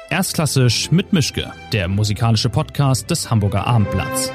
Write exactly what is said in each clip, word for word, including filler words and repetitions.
Erstklassisch mit Mischke, der musikalische Podcast des Hamburger Abendblatts.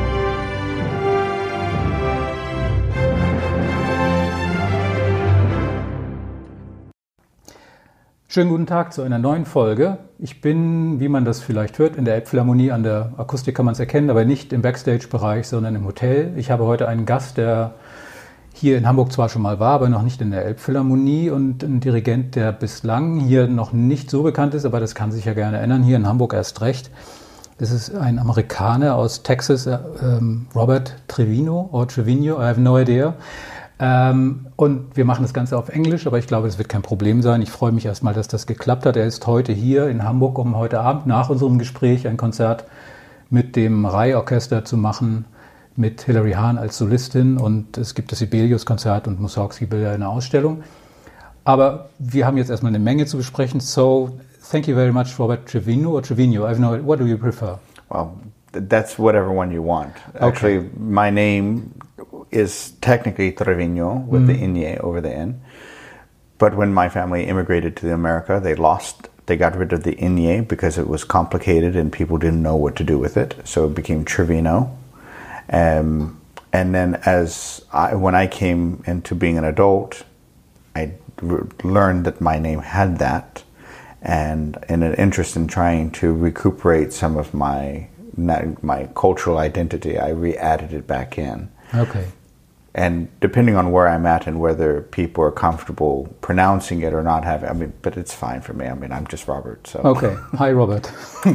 Schönen guten Tag zu einer neuen Folge. Ich bin, wie man das vielleicht hört, in der Elbphilharmonie. An der Akustik kann man es erkennen, aber nicht im Backstage-Bereich, sondern im Hotel. Ich habe heute einen Gast, der hier in Hamburg zwar schon mal war, aber noch nicht in der Elbphilharmonie, und ein Dirigent, der bislang hier noch nicht so bekannt ist, aber das kann sich ja gerne ändern, hier in Hamburg erst recht. Das ist ein Amerikaner aus Texas, ähm, Robert Trevino oder Trevino, I have no idea. Ähm, und wir machen das Ganze auf Englisch, aber ich glaube, das wird kein Problem sein. Ich freue mich erstmal, dass das geklappt hat. Er ist heute hier in Hamburg, um heute Abend nach unserem Gespräch ein Konzert mit dem Rai-Orchester zu machen, mit Hilary Hahn als Solistin, und es gibt das Sibelius-Konzert und Mussorgsky will ja eine Ausstellung. Aber wir haben jetzt erstmal eine Menge zu besprechen. So, thank you very much, Robert Trevino or Trevino. I have no, what do you prefer? Well, that's whatever one you want. Okay. Actually, my name is technically Trevino with mm. the Inye over the N. But when my family immigrated to America, they lost, they got rid of the Inye because it was complicated and people didn't know what to do with it. So it became Trevino. Um, and then as I, when I came into being an adult, I re- learned that my name had that, and in an interest in trying to recuperate some of my my cultural identity, I re-added it back in. Okay. And depending on where I'm at and whether people are comfortable pronouncing it or not having, I mean, but it's fine for me. I mean, I'm just Robert. So. Okay. Hi, Robert.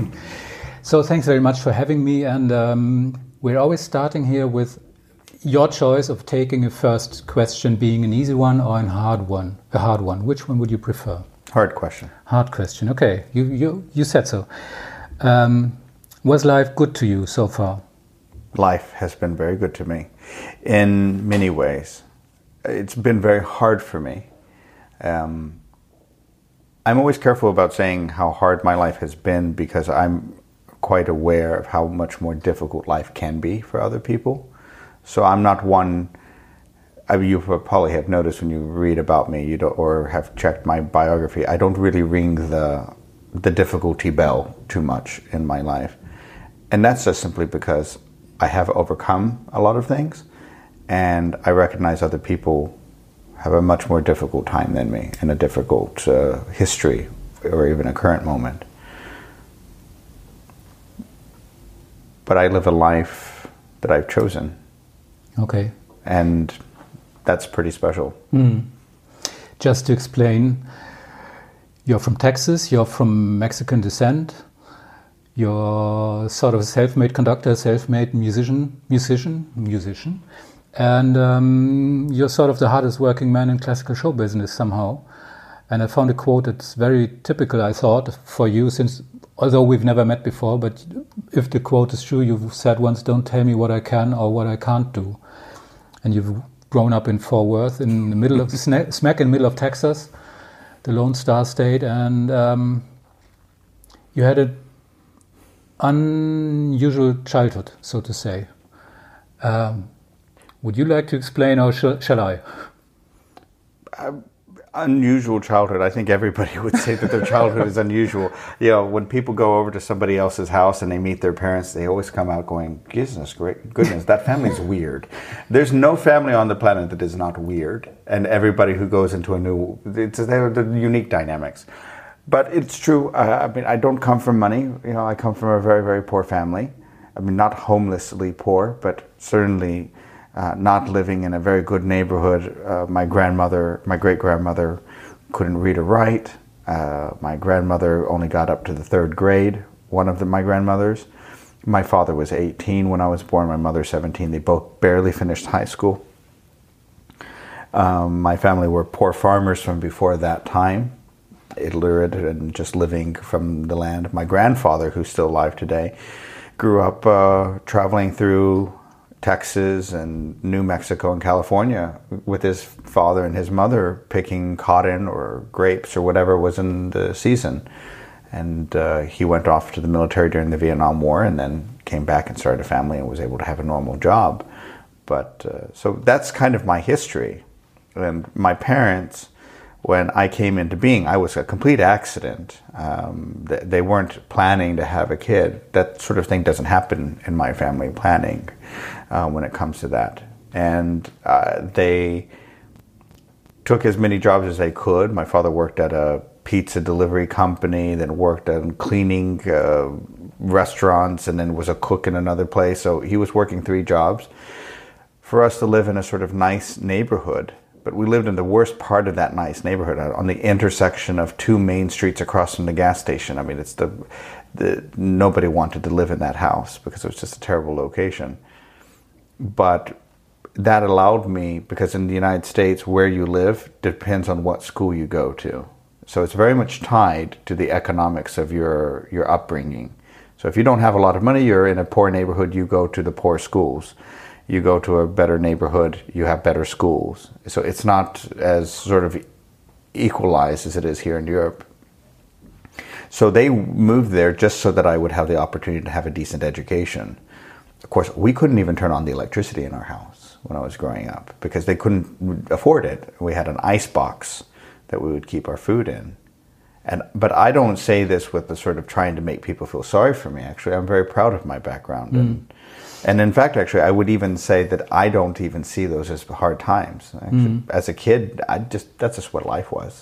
So thanks very much for having me, and um, we're always starting here with your choice of taking a first question being an easy one or a hard one. A hard one. Which one would you prefer? Hard question. Hard question. Okay, you you you said so. Um, was life good to you so far? Life has been very good to me in many ways. It's been very hard for me. Um, I'm always careful about saying how hard my life has been because I'm quite aware of how much more difficult life can be for other people. So I'm not one, I mean, you probably have noticed when you read about me, you don't, or have checked my biography, I don't really ring the the difficulty bell too much in my life. And that's just simply because I have overcome a lot of things, and I recognize other people have a much more difficult time than me in a difficult uh, history or even a current moment. But I live a life that I've chosen. Okay. And that's pretty special. Mm. Just to explain, you're from Texas, you're from Mexican descent, you're sort of a self-made conductor, self-made musician, musician, musician, and um, you're sort of the hardest working man in classical show business somehow. And I found a quote that's very typical, I thought, for you, since although we've never met before, but if the quote is true, you've said once, don't tell me what I can or what I can't do. And you've grown up in Fort Worth, in the middle of, smack in the middle of Texas, the Lone Star State, and um, you had an unusual childhood, so to say. Um, would you like to explain, or sh- shall I? Um. Unusual childhood. I think everybody would say that their childhood is unusual. You know, when people go over to somebody else's house and they meet their parents, they always come out going, goodness, great goodness, that family's weird. There's no family on the planet that is not weird. And everybody who goes into a new, it's, they're the unique dynamics. But it's true. Uh, I mean, I don't come from money. You know, I come from a very, very poor family. I mean, not homelessly poor, but certainly Uh, not living in a very good neighborhood. Uh, my grandmother, my great-grandmother couldn't read or write. Uh, my grandmother only got up to the third grade, one of the, my grandmothers. My father was eighteen when I was born, my mother seventeen. They both barely finished high school. Um, my family were poor farmers from before that time, illiterate and just living from the land. My grandfather, who's still alive today, grew up uh, traveling through Texas and New Mexico and California with his father and his mother picking cotton or grapes or whatever was in the season. And uh, he went off to the military during the Vietnam War and then came back and started a family and was able to have a normal job. But uh, so that's kind of my history. And my parents when I came into being, I was a complete accident. Um, th- they weren't planning to have a kid. That sort of thing doesn't happen in my family planning uh, when it comes to that. And uh, they took as many jobs as they could. My father worked at a pizza delivery company, then worked on cleaning uh, restaurants, and then was a cook in another place. So he was working three jobs for us to live in a sort of nice neighborhood. But we lived in the worst part of that nice neighborhood, on the intersection of two main streets across from the gas station. I mean, it's the, the nobody wanted to live in that house because it was just a terrible location. But that allowed me, because in the United States, where you live depends on what school you go to. So it's very much tied to the economics of your, your upbringing. So if you don't have a lot of money, you're in a poor neighborhood, you go to the poor schools. You go to a better neighborhood, you have better schools. So it's not as sort of equalized as it is here in Europe. So they moved there just so that I would have the opportunity to have a decent education. Of course, we couldn't even turn on the electricity in our house when I was growing up because they couldn't afford it. We had an ice box that we would keep our food in. And but I don't say this with the sort of trying to make people feel sorry for me. Actually, I'm very proud of my background. Mm. And, and in fact, actually, I would even say that I don't even see those as hard times. Actually, mm. As a kid, I just that's just what life was.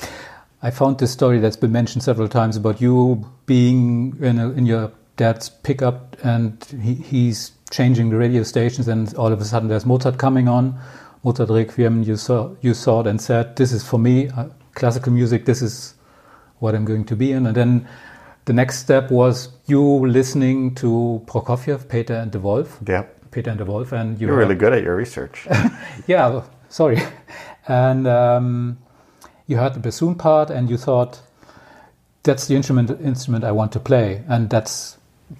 I found this story that's been mentioned several times about you being in, a, in your dad's pickup, and he, he's changing the radio stations, and all of a sudden there's Mozart coming on, Mozart Requiem. You saw you saw it and said, "This is for me, uh, classical music. This is what I'm going to be in." And then the next step was you listening to Prokofiev, Peter and the Wolf. Yeah. Peter and the Wolf. And you You're really good at your research. Yeah, well, sorry. And um, you heard the bassoon part and you thought, that's the instrument instrument I want to play. And that's,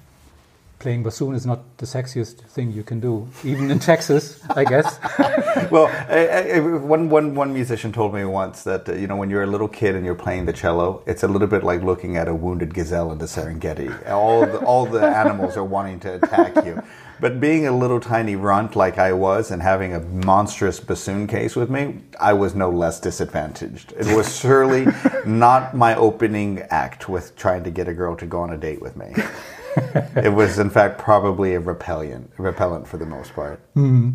playing bassoon is not the sexiest thing you can do, even in Texas, I guess. Well, I, I, one, one, one musician told me once that, uh, you know, when you're a little kid and you're playing the cello, it's a little bit like looking at a wounded gazelle in the Serengeti. All the, all the animals are wanting to attack you. But being a little tiny runt like I was and having a monstrous bassoon case with me, I was no less disadvantaged. It was surely not my opening act with trying to get a girl to go on a date with me. It was, in fact, probably a repellent, repellent for the most part. Mm.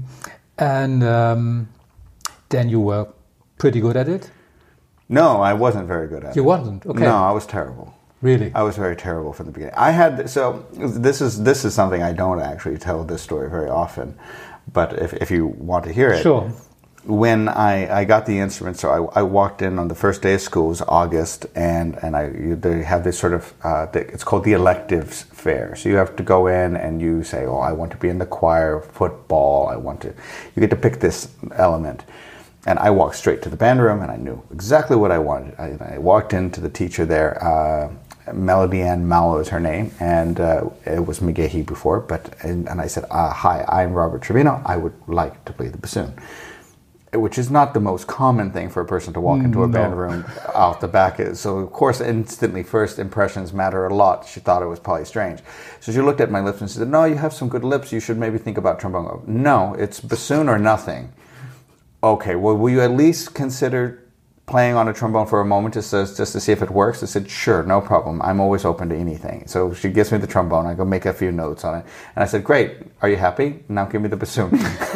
And um, then you were pretty good at it? No, I wasn't very good at you it. You wasn't? Okay. No, I was terrible. Really? I was very terrible from the beginning. I had, so this is this is something I don't actually tell this story very often, but if, if you want to hear it. Sure. When I, I got the instrument, so I, I walked in on the first day of school, it was August, and, and I you, they have this sort of, uh, it's called the electives fair. So you have to go in and you say, oh, I want to be in the choir, football, I want to, you get to pick this element. And I walked straight to the band room and I knew exactly what I wanted. I, I walked into the teacher there, uh, Melody Ann Mallow is her name, and uh, it was McGahee before, but, and, and I said, uh, hi, I'm Robert Trevino, I would like to play the bassoon. Which is not the most common thing for a person to walk into a no. band room out the back. So, of course, instantly, first impressions matter a lot. She thought it was probably strange. So she looked at my lips and said, no, you have some good lips. You should maybe think about trombone. No, it's bassoon or nothing. Okay, well, will you at least consider playing on a trombone for a moment just to, just to see if it works? I said, sure, no problem. I'm always open to anything. So she gives me the trombone. I go make a few notes on it. And I said, great, are you happy? Now give me the bassoon.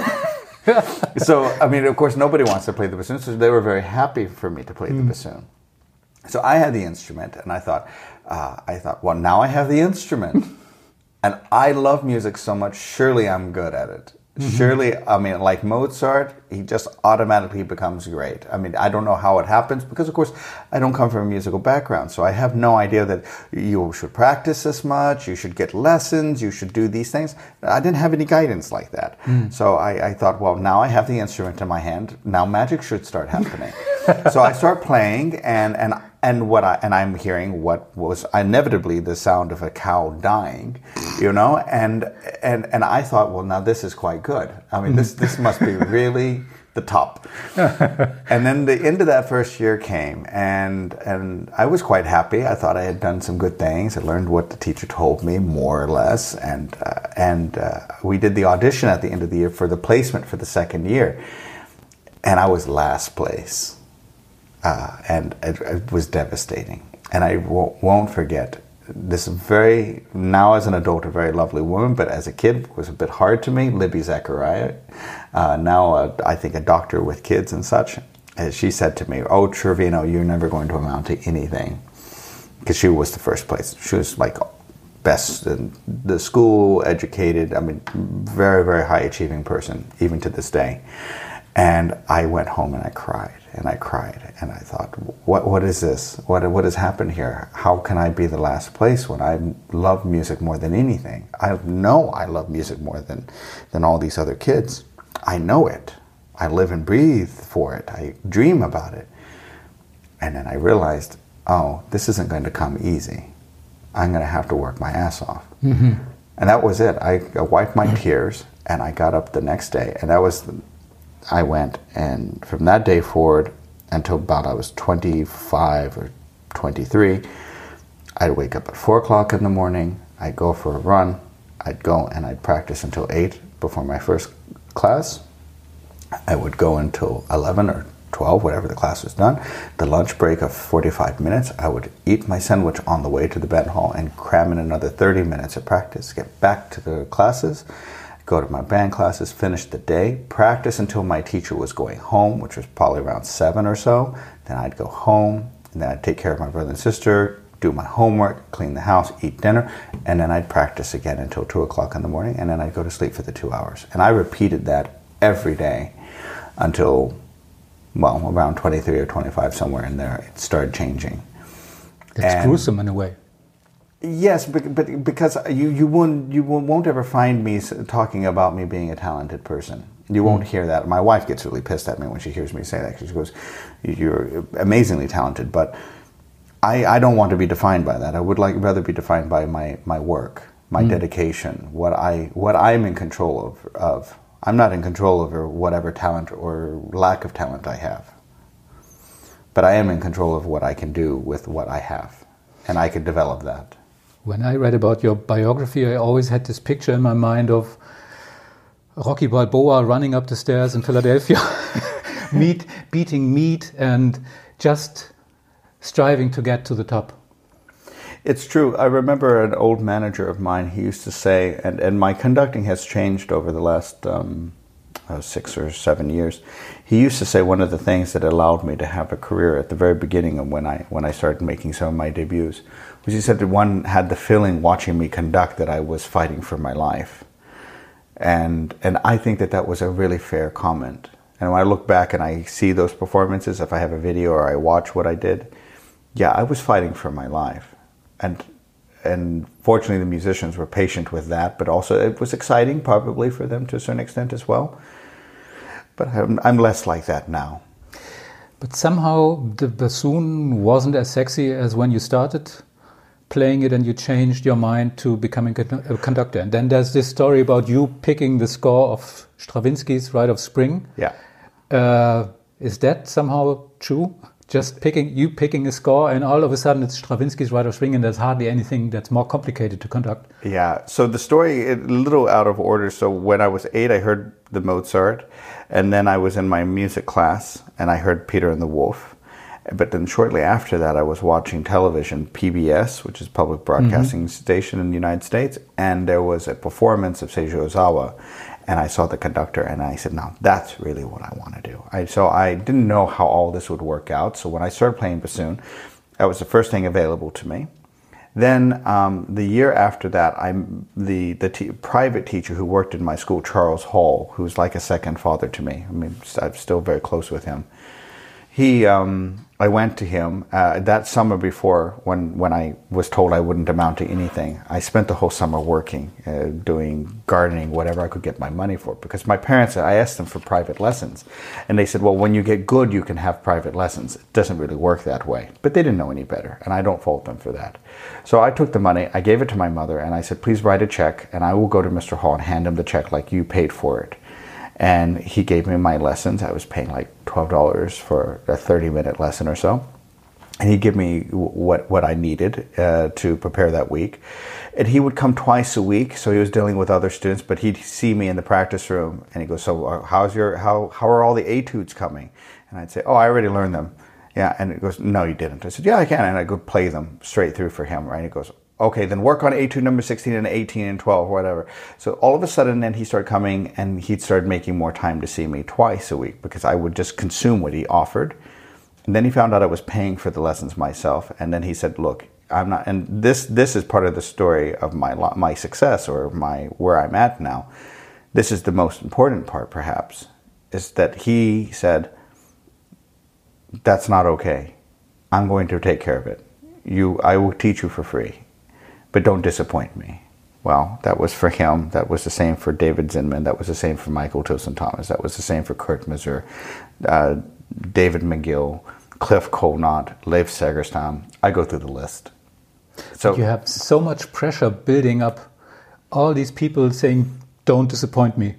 So, I mean, of course, nobody wants to play the bassoon, so they were very happy for me to play mm. the bassoon. So I had the instrument, and I thought, uh, I thought, well, now I have the instrument. And I love music so much, surely I'm good at it. Mm-hmm. Surely, I mean, like Mozart, he just automatically becomes great. I mean, I don't know how it happens because, of course, I don't come from a musical background. So I have no idea that you should practice this much, you should get lessons, you should do these things. I didn't have any guidance like that. Mm. So I, I thought, well, now I have the instrument in my hand. Now magic should start happening. So I start playing, and and and what I and I'm hearing what was inevitably the sound of a cow dying, you know, and and and I thought, well, now this is quite good. I mean, this this must be really the top. And then the end of that first year came, and and I was quite happy. I thought I had done some good things. I learned what the teacher told me, more or less, and uh, and uh, we did the audition at the end of the year for the placement for the second year, and I was last place. uh, and it, it was devastating. And I w- won't forget this very, now as an adult, a very lovely woman, but as a kid was a bit hard to me, Libby Zachariah, uh, now uh, I think a doctor with kids and such. And she said to me, "Oh, Trevino, you're never going to amount to anything." Because she was the first place. She was like best in the school, educated, I mean, very, very high achieving person, even to this day. And I went home and I cried and I cried and I thought, what what is this? What what has happened here? How can I be the last place when I love music more than anything? I know I love music more than, than all these other kids. I know it. I live and breathe for it. I dream about it. And then I realized, oh, this isn't going to come easy. I'm going to have to work my ass off. Mm-hmm. And that was it. I, I wiped my tears and I got up the next day. And that was, the, I went. And from that day forward until about I was twenty-five or twenty-three, I'd wake up at four o'clock in the morning. I'd go for a run. I'd go and I'd practice until eight before my first class. I would go until eleven or twelve, whatever the class was done. The lunch break of forty-five minutes, I would eat my sandwich on the way to the band hall and cram in another thirty minutes of practice, get back to the classes, go to my band classes, finish the day, practice until my teacher was going home, which was probably around seven or so. Then I'd go home, and then I'd take care of my brother and sister, do my homework, clean the house, eat dinner, and then I'd practice again until two o'clock in the morning, and then I'd go to sleep for the two hours. And I repeated that every day until, well, around twenty-three or twenty-five, somewhere in there, it started changing. That's and gruesome in a way. Yes, but, but because you, you, won't, you won't ever find me talking about me being a talented person. You won't mm. hear that. My wife gets really pissed at me when she hears me say that. She goes, "You're amazingly talented," but I, I don't want to be defined by that. I would like rather be defined by my, my work, my mm. dedication, what, I, what I'm in control of, of. I'm not in control over whatever talent or lack of talent I have. But I am in control of what I can do with what I have. And I can develop that. When I read about your biography, I always had this picture in my mind of Rocky Balboa running up the stairs in Philadelphia, meat, beating meat and just striving to get to the top. It's true. I remember an old manager of mine, he used to say, and, and my conducting has changed over the last um, uh, six or seven years. He used to say one of the things that allowed me to have a career at the very beginning of when I when I started making some of my debuts, was he said that one had the feeling watching me conduct that I was fighting for my life. And and I think that that was a really fair comment. And when I look back and I see those performances, if I have a video or I watch what I did, yeah, I was fighting for my life. And and fortunately the musicians were patient with that, but also it was exciting probably for them to a certain extent as well. But I'm, I'm less like that now. But somehow the bassoon wasn't as sexy as when you started playing it and you changed your mind to becoming a conductor. And then there's this story about you picking the score of Stravinsky's Rite of Spring. Yeah. Uh, is that somehow true? Just picking you picking a score, and all of a sudden it's Stravinsky's Rite of Spring, and there's hardly anything that's more complicated to conduct. Yeah. So the story, a little out of order. So when I was eight, I heard the Mozart, and then I was in my music class, and I heard Peter and the Wolf. But then shortly after that, I was watching television, P B S, which is public broadcasting mm-hmm. station in the United States, and there was a performance of Seiji Ozawa. And I saw the conductor, and I said, "No, that's really what I want to do." I, so I didn't know how all this would work out. So when I started playing bassoon, that was the first thing available to me. Then um, the year after that, I the the t- private teacher who worked in my school, Charles Hall, who's like a second father to me. I mean, I'm still very close with him. He, um, I went to him uh, that summer before when, when I was told I wouldn't amount to anything. I spent the whole summer working, uh, doing gardening, whatever I could get my money for. Because my parents, I asked them for private lessons. And they said, well, when you get good, you can have private lessons. It doesn't really work that way. But they didn't know any better, and I don't fault them for that. So I took the money, I gave it to my mother, and I said, please write a check, and I will go to Mister Hall and hand him the check like you paid for it. And he gave me my lessons. I was paying like twelve dollars for a thirty-minute lesson or so. And he'd give me what, what I needed uh, to prepare that week. And he would come twice a week, so he was dealing with other students, but he'd see me in the practice room, and he'd go, so how's your, how, how are all the etudes coming? And I'd say, oh, I already learned them. Yeah, and he goes, no, you didn't. I said, yeah, I can. And I go play them straight through for him, right? He goes, okay, then work on etude number sixteen and eighteen and twelve, whatever. So all of a sudden, then he started coming, and he started making more time to see me twice a week because I would just consume what he offered. And then he found out I was paying for the lessons myself. And then he said, look, I'm not, and this this is part of the story of my my success or my where I'm at now. This is the most important part, perhaps, is that he said, that's not okay. I'm going to take care of it. You, I will teach you for free, but don't disappoint me. Well, that was for him. That was the same for David Zinman. That was the same for Michael Tilson Thomas. That was the same for Kurt Masur, uh, David McGill, Cliff Colnott, Leif Segerstam. I go through the list. So you have so much pressure building up. All these people saying, "Don't disappoint me."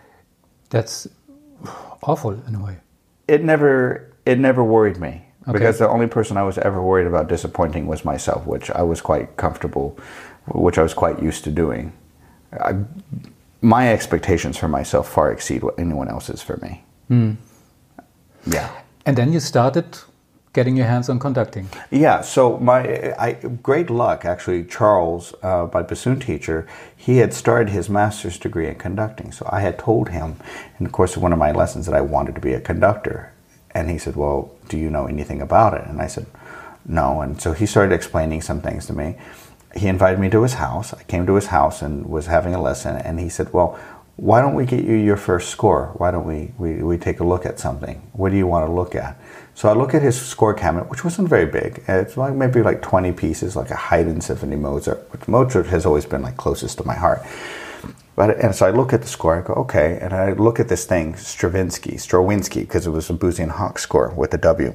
That's awful in a way. It never, it never worried me. Okay. Because the only person I was ever worried about disappointing was myself, which I was quite comfortable, which I was quite used to doing. I, my expectations for myself far exceed what anyone else's for me. Mm. Yeah. And then you started getting your hands on conducting. Yeah, so my I, great luck, actually, Charles, uh, my bassoon teacher, he had started his master's degree in conducting. So I had told him in the course of one of my lessons that I wanted to be a conductor. And he said, well, do you know anything about it? And I said, no. And so he started explaining some things to me. He invited me to his house. I came to his house and was having a lesson. And he said, well, why don't we get you your first score? Why don't we, we, we take a look at something? What do you want to look at? So I look at his score cabinet, which wasn't very big. It's like maybe like twenty pieces, like a Haydn Symphony Mozart, which Mozart has always been like closest to my heart. But, and so I look at the score, I go, okay, and I look at this thing, Stravinsky, Strawinsky, because it was a Boosey and Hawk score with a W.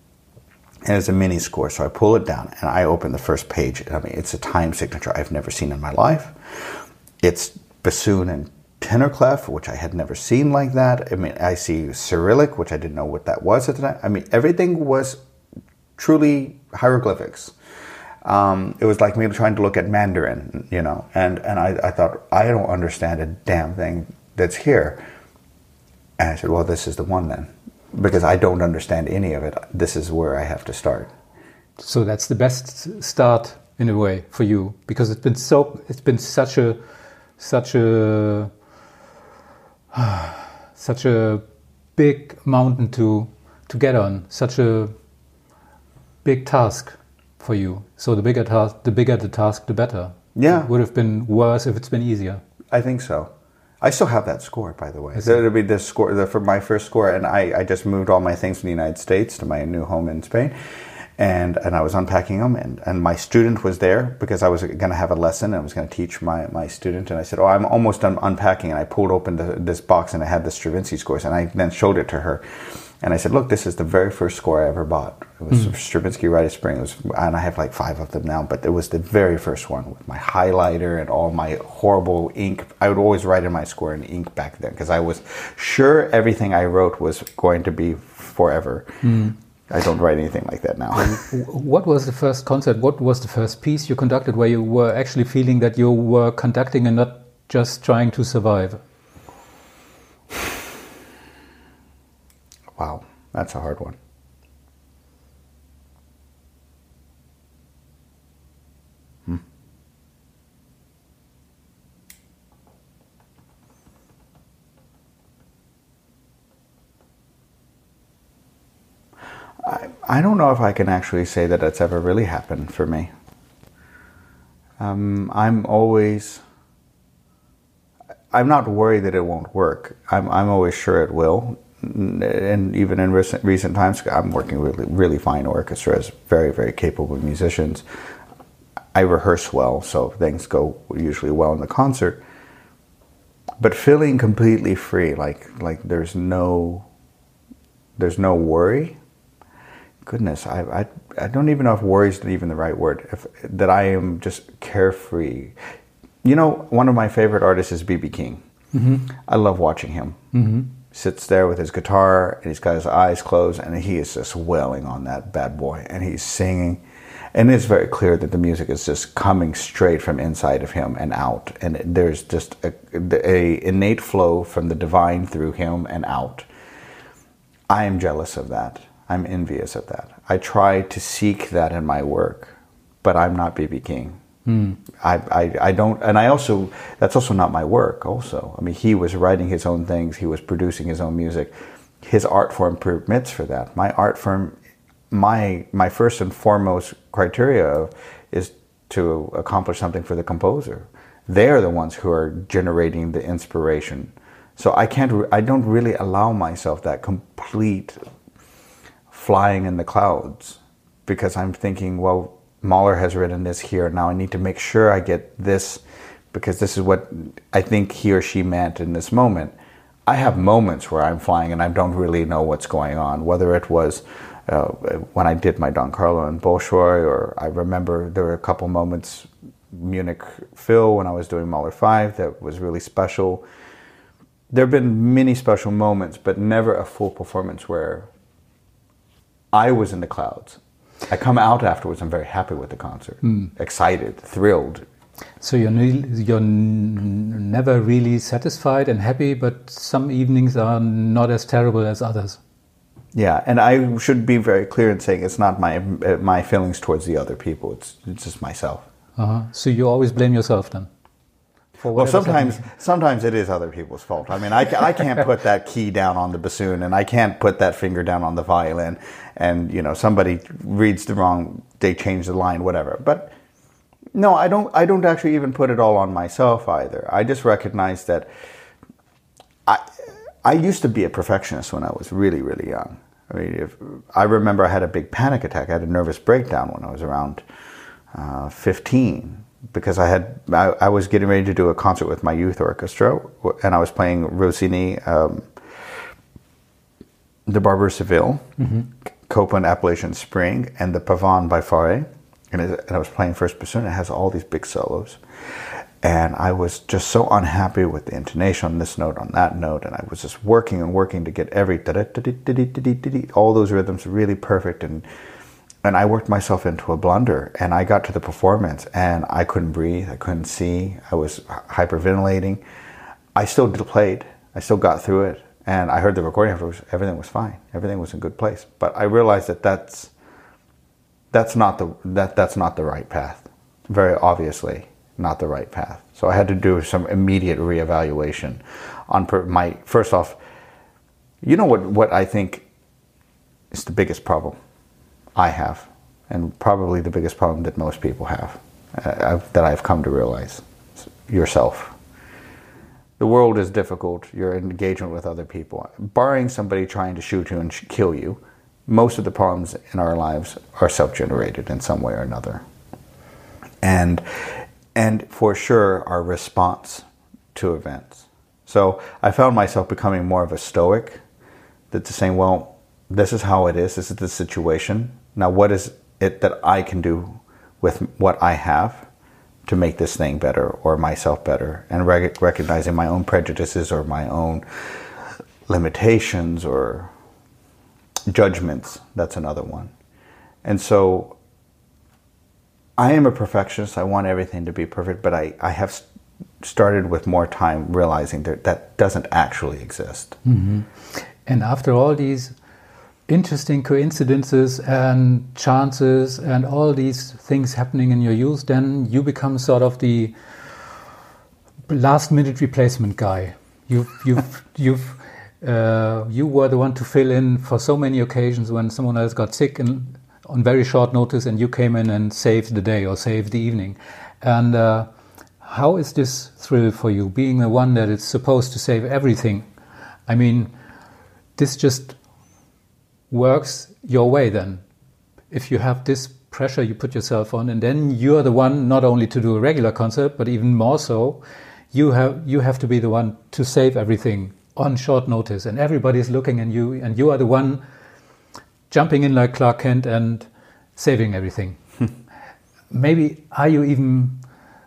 And it's a mini score, so I pull it down, and I open the first page. I mean, it's a time signature I've never seen in my life. It's bassoon and tenor clef, which I had never seen like that. I mean, I see Cyrillic, which I didn't know what that was at the time. I mean, everything was truly hieroglyphics. Um, it was like me trying to look at Mandarin, you know, and, and I, I thought, I don't understand a damn thing that's here. And I said, well, this is the one then, because I don't understand any of it. This is where I have to start. So that's the best start in a way for you, because it's been so, it's been such a, such a, such a big mountain to, to get on, such a big task for you. So the bigger task, the bigger the task, the better. Yeah. It would have been worse if it's been easier. I think so. I still have that score, by the way. So it'll be this score the, for my first score, and I, I just moved all my things from the United States to my new home in Spain, and and I was unpacking them, and, and my student was there because I was going to have a lesson, and I was going to teach my, my student, and I said, oh, I'm almost done unpacking, and I pulled open the, this box, and it had the Stravinsky scores, and I then showed it to her. And I said, look, this is the very first score I ever bought. It was mm. Stravinsky Rite of Spring. It was, and I have like five of them now, but it was the very first one with my highlighter and all my horrible ink. I would always write in my score in ink back then because I was sure everything I wrote was going to be forever. Mm. I don't write anything like that now. What was the first concert? What was the first piece you conducted where you were actually feeling that you were conducting and not just trying to survive? Wow, that's a hard one. Hmm. I, I don't know if I can actually say that it's ever really happened for me. Um, I'm always... I'm not worried that it won't work. I'm, I'm always sure it will. And even in recent recent times, I'm working with really, really fine orchestras, very, very capable musicians. I rehearse well, so things go usually well in the concert. But feeling completely free, like like there's no there's no worry. Goodness, I I I don't even know if worry is even the right word. If that I am just carefree. You know, one of my favorite artists is B B King. Mm-hmm. I love watching him. Mm-hmm. Sits there with his guitar, and he's got his eyes closed, and he is just wailing on that bad boy, and he's singing. And it's very clear that the music is just coming straight from inside of him and out. And there's just a, a innate flow from the divine through him and out. I am jealous of that. I'm envious of that. I try to seek that in my work, but I'm not B B King. Mm. I, I, I don't, and I also, that's also not my work also. I mean, he was writing his own things, he was producing his own music. His art form permits for that. My art form, my my first and foremost criteria is to accomplish something for the composer. They're the ones who are generating the inspiration. So I can't, I don't really allow myself that complete flying in the clouds, because I'm thinking, well, Mahler has written this here, now I need to make sure I get this, because this is what I think he or she meant in this moment. I have moments where I'm flying and I don't really know what's going on, whether it was uh, when I did my Don Carlo and Bolshoi, or I remember there were a couple moments, Munich Phil, when I was doing Mahler five, that was really special. There have been many special moments, but never a full performance where I was in the clouds. I come out afterwards, I'm very happy with the concert, mm. excited, thrilled. So you're, ne- you're n- never really satisfied and happy, but some evenings are not as terrible as others. Yeah, and I should be very clear in saying it's not my my feelings towards the other people, it's, it's just myself. Uh-huh. So you always blame yourself then? Well, sometimes happening. sometimes it is other people's fault. I mean, I, I can't put that key down on the bassoon, and I can't put that finger down on the violin, and, you know, somebody reads the wrong, they change the line, whatever. But no, I don't I don't actually even put it all on myself either. I just recognize that I I used to be a perfectionist when I was really, really young. I mean, if, I remember I had a big panic attack. I had a nervous breakdown when I was around uh, fifteen. Because I had, I, I was getting ready to do a concert with my youth orchestra, and I was playing Rossini, um, the Barber of Seville, mm-hmm. Copland Appalachian Spring, and the Pavane by Fauré, and, it, and I was playing first bassoon. It has all these big solos, and I was just so unhappy with the intonation on this note, on that note, and I was just working and working to get every all those rhythms really perfect, and. And I worked myself into a blunder, and I got to the performance, and I couldn't breathe, I couldn't see, I was hyperventilating. I still played, I still got through it, and I heard the recording afterwards, everything was fine, everything was in good place. But I realized that that's, that's, not, the, that, that's not the right path, very obviously not the right path. So I had to do some immediate reevaluation on per, my, first off, you know what, what I think is the biggest problem I have, and probably the biggest problem that most people have, uh, I've, that I've come to realize, yourself. The world is difficult, your engagement with other people. Barring somebody trying to shoot you and sh- kill you, most of the problems in our lives are self-generated in some way or another. And, and for sure, our response to events. So I found myself becoming more of a stoic, that's saying, well, this is how it is, this is the situation. Now, what is it that I can do with what I have to make this thing better, or myself better? And rec- recognizing my own prejudices or my own limitations or judgments, that's another one. And so I am a perfectionist. I want everything to be perfect, but I, I have started with more time realizing that that doesn't actually exist. Mm-hmm. And after all these interesting coincidences and chances and all these things happening in your youth, then you become sort of the last minute replacement guy. You've, you've, you've, uh, you were the one to fill in for so many occasions when someone else got sick and on very short notice, and you came in and saved the day or saved the evening. And uh, how is this thrill for you, being the one that is supposed to save everything? I mean, this just works your way then. If you have this pressure you put yourself on, and then you're the one not only to do a regular concert, but even more so, you have you have to be the one to save everything on short notice, and everybody's looking at you, and you are the one jumping in like Clark Kent and saving everything. Maybe are you even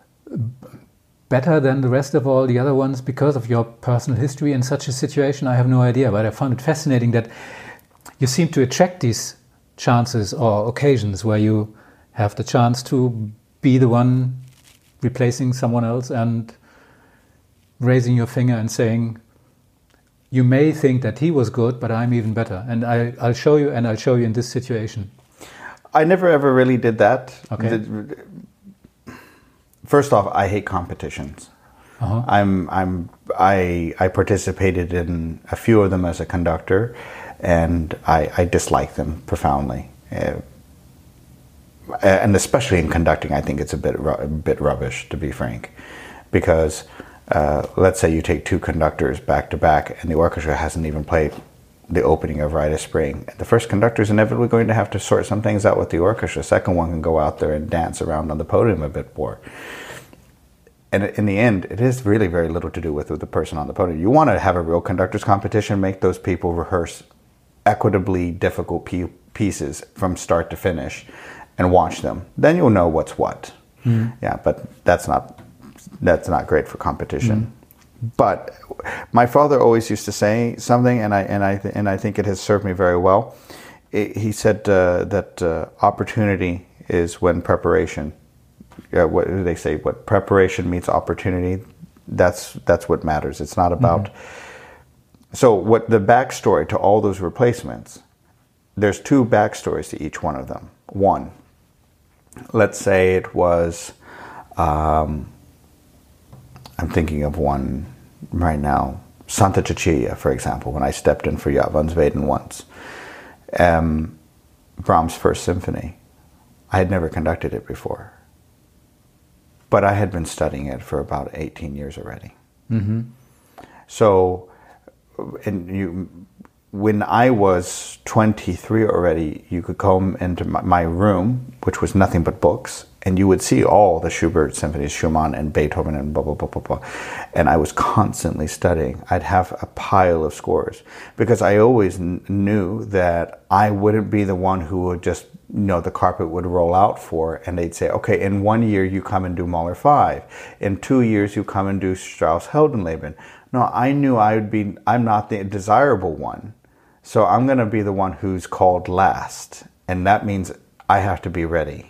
better than the rest of all the other ones because of your personal history in such a situation? I have no idea, but I found it fascinating that you seem to attract these chances or occasions where you have the chance to be the one replacing someone else and raising your finger and saying, you may think that he was good, but I'm even better. And I, I'll show you, and I'll show you in this situation. I never ever really did that. Okay. The, first off, I hate competitions. Uh-huh. I'm I'm I I participated in a few of them as a conductor, and I, I dislike them profoundly. Uh, and especially in conducting, I think it's a bit a bit rubbish, to be frank, because uh, let's say you take two conductors back to back, and the orchestra hasn't even played the opening of Rite of Spring. The first conductor is inevitably going to have to sort some things out with the orchestra. The second one can go out there and dance around on the podium a bit more. And in the end, it is really very little to do with, with the person on the podium. You want to have a real conductors competition, make those people rehearse equitably difficult p- pieces from start to finish and watch them. Then you'll know what's what. Mm. Yeah, but that's not that's not great for competition. Mm. But my father always used to say something, and I and I th- and I think it has served me very well. It, he said uh, that uh, opportunity is when preparation. Yeah, what do they say? What preparation meets opportunity. That's that's what matters. It's not about. Mm-hmm. So what the backstory to all those replacements? There's two backstories to each one of them. One, let's say it was. Um, I'm thinking of one right now. Santa Cecilia, for example, when I stepped in for Ja van Zweden once. Um, Brahms' First Symphony. I had never conducted it before. But I had been studying it for about eighteen years already. Mm-hmm. So, and you, when I was twenty-three already, you could come into my, my room, which was nothing but books, and you would see all the Schubert symphonies, Schumann and Beethoven and blah, blah, blah, blah, blah. And I was constantly studying. I'd have a pile of scores because I always n- knew that I wouldn't be the one who would just, you know, the carpet would roll out for, and they'd say, okay, in one year you come and do Mahler five. In two years you come and do Strauss Heldenleben. No, I knew I would be, I'm not the desirable one. So I'm going to be the one who's called last. And that means I have to be ready.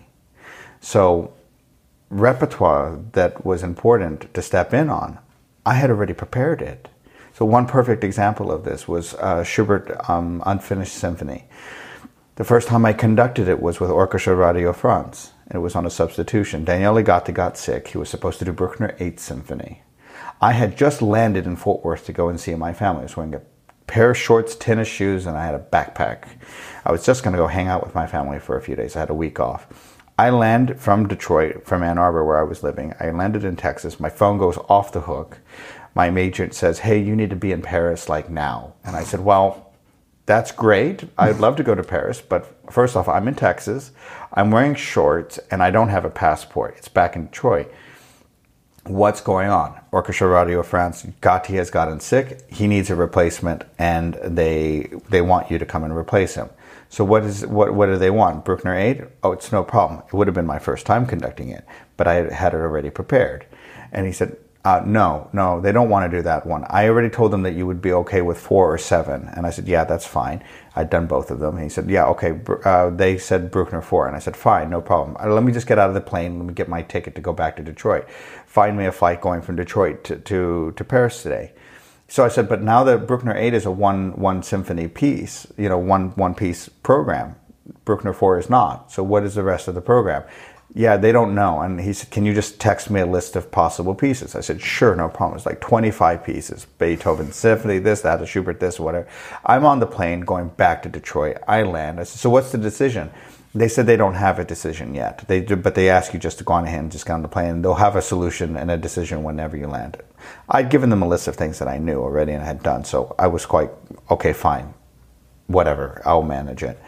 So repertoire that was important to step in on, I had already prepared it. So one perfect example of this was uh, Schubert um, Unfinished Symphony. The first time I conducted it was with Orchestra Radio France. And it was on a substitution. Daniele Gatti got sick. He was supposed to do Bruckner Eighth Symphony. I had just landed in Fort Worth to go and see my family. I was wearing a pair of shorts, tennis shoes, and I had a backpack. I was just going to go hang out with my family for a few days. I had a week off. I land from Detroit, from Ann Arbor, where I was living. I landed in Texas. My phone goes off the hook. My agent says, hey, you need to be in Paris like now. And I said, well, that's great. I'd love to go to Paris. But first off, I'm in Texas. I'm wearing shorts, and I don't have a passport. It's back in Detroit. What's going on? Orchestra Radio France, Gatti has gotten sick. He needs a replacement, and they they want you to come and replace him. So what is what what do they want? Bruckner eight? Oh, it's no problem. It would have been my first time conducting it, but I had it already prepared. And he said, uh, no, no, they don't want to do that one. I already told them that you would be okay with four or seven. And I said, yeah, that's fine. I'd done both of them. And he said, yeah, okay. Uh, they said Bruckner four. And I said, fine, no problem. Uh, let me just get out of the plane. Let me get my ticket to go back to Detroit. Find me a flight going from Detroit to, to, to Paris today. So I said, but now that Bruckner eight is a one one symphony piece, you know, one one piece program, Bruckner four is not. So what is the rest of the program? Yeah, they don't know. And he said, can you just text me a list of possible pieces? I said, sure, no problem. It's like twenty-five pieces. Beethoven Symphony, this, that, Schubert, this, whatever. I'm on the plane going back to Detroit. I land. I said, so what's the decision? They said they don't have a decision yet. They do, but they ask you just to go on ahead and just get on the plane. They'll have a solution and a decision whenever you land. I'd given them a list of things that I knew already and had done, so I was quite, okay, fine, whatever, I'll manage it.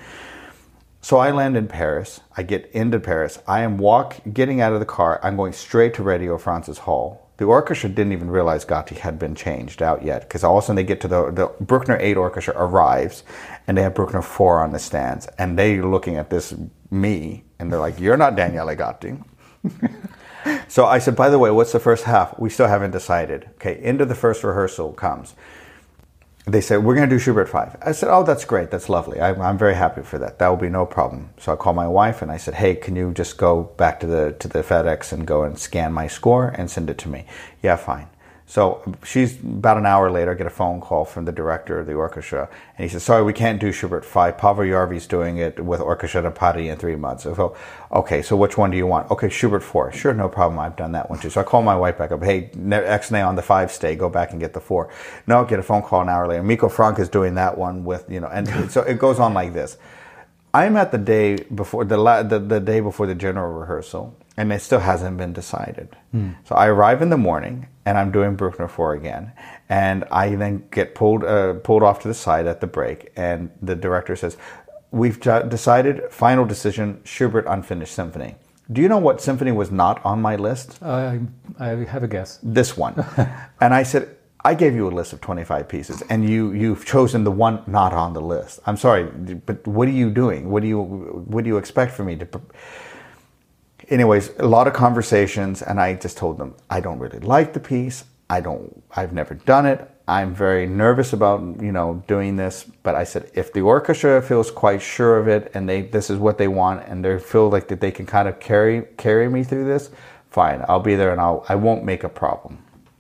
So I land in Paris. I get into Paris. I am walk, getting out of the car. I'm going straight to Radio France's hall. The orchestra didn't even realize Gatti had been changed out yet, because all of a sudden they get to the, the Bruckner eight orchestra arrives, and they have Bruckner four on the stands, and they're looking at this, me, and they're like, you're not Daniele Gatti. So I said, by the way, what's the first half? We still haven't decided. Okay, into the first rehearsal comes. They said, we're going to do Schubert five. I said, oh, that's great. That's lovely. I, I'm very happy for that. That will be no problem. So I called my wife and I said, hey, can you just go back to the to the FedEx and go and scan my score and send it to me? Yeah, fine. So she's about an hour later, I get a phone call from the director of the orchestra, and he says, sorry, we can't do Schubert five. Pavel Jarvi's doing it with Orchestra de Paris in three months. So, okay, so which one do you want? Okay, Schubert four. Sure, no problem. I've done that one too. So I call my wife back up. Hey, X-Nay on the five stay. Go back and get the four. No, get a phone call an hour later. Miko Frank is doing that one with, you know, and so it goes on like this. I'm at the day before the, la- the the day before the general rehearsal, and it still hasn't been decided. Mm. So I arrive in the morning, and I'm doing Bruckner four again, and I then get pulled uh, pulled off to the side at the break, and the director says, "We've decided, final decision, Schubert Unfinished Symphony." Do you know what symphony was not on my list? Uh, I have a guess. This one. And I said, I gave you a list of twenty-five pieces, and you you've chosen the one not on the list. I'm sorry, but what are you doing? What do you what do you expect from me to? Pre- Anyways, a lot of conversations, and I just told them I don't really like the piece. I don't. I've never done it. I'm very nervous about you know doing this. But I said if the orchestra feels quite sure of it, and they this is what they want, and they feel like that they can kind of carry carry me through this, fine. I'll be there, and I'll I won't make a problem.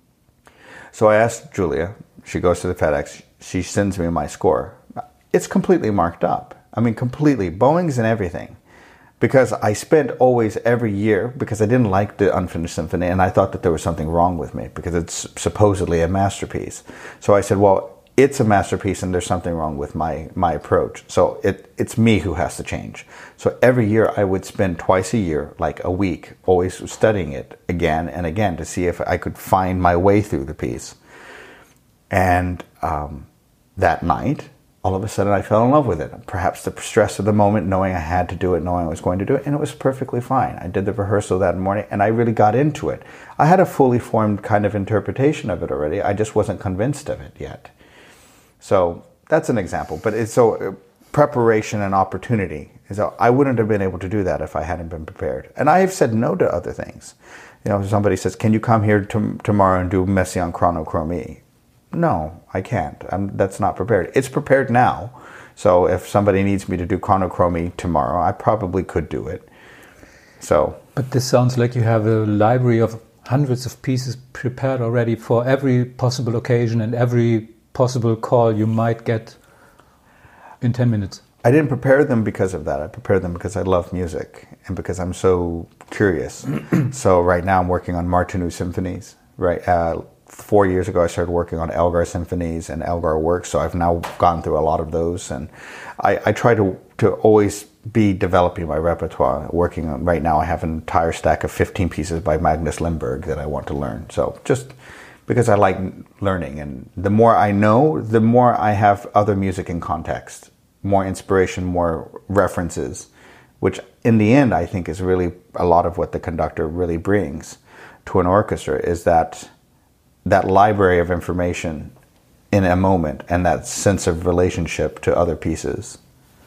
So I asked Julia, she goes to the FedEx, she sends me my score. It's completely marked up. I mean, completely. Bowings and everything. Because I spent always every year, because I didn't like the Unfinished Symphony, and I thought that there was something wrong with me, because it's supposedly a masterpiece. So I said, well, it's a masterpiece, and there's something wrong with my, my approach. So it it's me who has to change. So every year I would spend twice a year, like a week, always studying it again and again to see if I could find my way through the piece. And um, that night, all of a sudden I fell in love with it. Perhaps the stress of the moment, knowing I had to do it, knowing I was going to do it, and it was perfectly fine. I did the rehearsal that morning, and I really got into it. I had a fully formed kind of interpretation of it already. I just wasn't convinced of it yet. So that's an example. But it's so uh, preparation and opportunity. So I wouldn't have been able to do that if I hadn't been prepared. And I have said no to other things. You know, somebody says, "Can you come here to, tomorrow and do Messiaen Chronochromie?" No, I can't. I'm, that's not prepared. It's prepared now. So if somebody needs me to do Chronochromie tomorrow, I probably could do it. So, but this sounds like you have a library of hundreds of pieces prepared already for every possible occasion and every possible call you might get in ten minutes. I didn't prepare them because of that. I prepared them because I love music and because I'm so curious. So right now I'm working on Martinu symphonies. Right. Uh, Four years ago, I started working on Elgar symphonies and Elgar works, so I've now gone through a lot of those, and I, I try to to always be developing my repertoire. Working on right now, I have an entire stack of fifteen pieces by Magnus Lindberg that I want to learn. So just because I like learning, and the more I know, the more I have other music in context, more inspiration, more references, which in the end I think is really a lot of what the conductor really brings to an orchestra, is that that library of information in a moment and that sense of relationship to other pieces.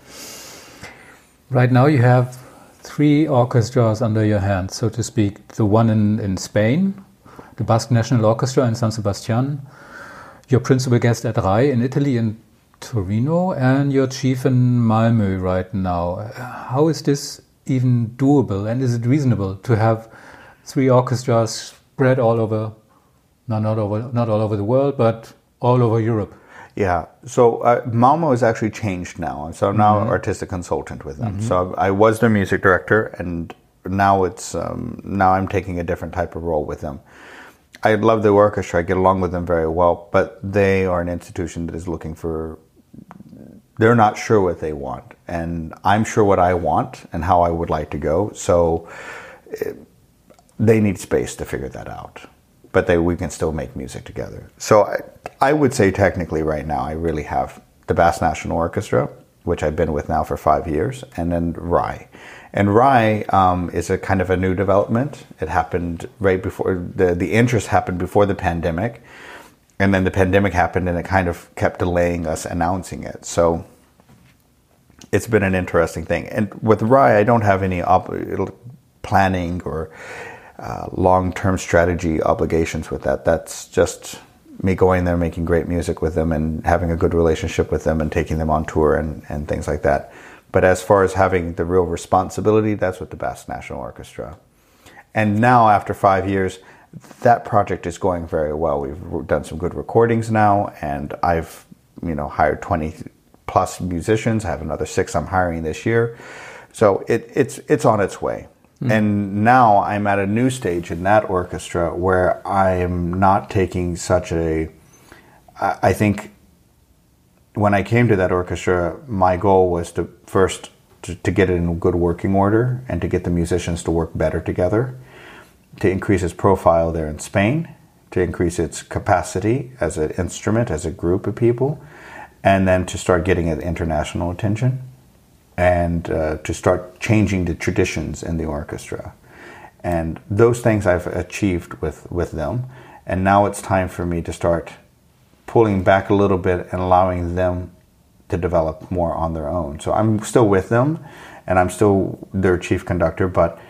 Right now you have three orchestras under your hand, so to speak. The one in, in Spain, the Basque National Orchestra in San Sebastian, your principal guest at R A I in Italy in Torino, and your chief in Malmö right now. How is this even doable, and is it reasonable to have three orchestras spread all over Not, not over, not all over the world, but all over Europe? Yeah. So uh, Malmo has actually changed now. So I'm now mm-hmm. artistic consultant with them. Mm-hmm. So I was their music director, and now it's um, now I'm taking a different type of role with them. I love the orchestra. I get along with them very well, but they are an institution that is looking for. They're not sure what they want, and I'm sure what I want and how I would like to go. So it, they need space to figure that out. But they, we can still make music together. So I, I would say technically right now I really have the Basque National Orchestra, which I've been with now for five years, and then R A I. And R A I um, is a kind of a new development. It happened right before, the, the interest happened before the pandemic, and then the pandemic happened and it kind of kept delaying us announcing it. So it's been an interesting thing. And with R A I, I don't have any op- planning or Uh, long-term strategy obligations with that. That's just me going there, making great music with them and having a good relationship with them and taking them on tour and, and things like that. But as far as having the real responsibility, that's with the Basque National Orchestra. And now, after five years, that project is going very well. We've done some good recordings now, and I've, you know, hired twenty plus musicians. I have another six I'm hiring this year. So it, it's it's on its way. Mm. And now I'm at a new stage in that orchestra where I'm not taking such a, I think when I came to that orchestra, my goal was to first to, to get it in good working order and to get the musicians to work better together, to increase its profile there in Spain, to increase its capacity as an instrument, as a group of people, and then to start getting it international attention, and uh, to start changing the traditions in the orchestra. And those things I've achieved with, with them. And now it's time for me to start pulling back a little bit and allowing them to develop more on their own. So I'm still with them, and I'm still their chief conductor, but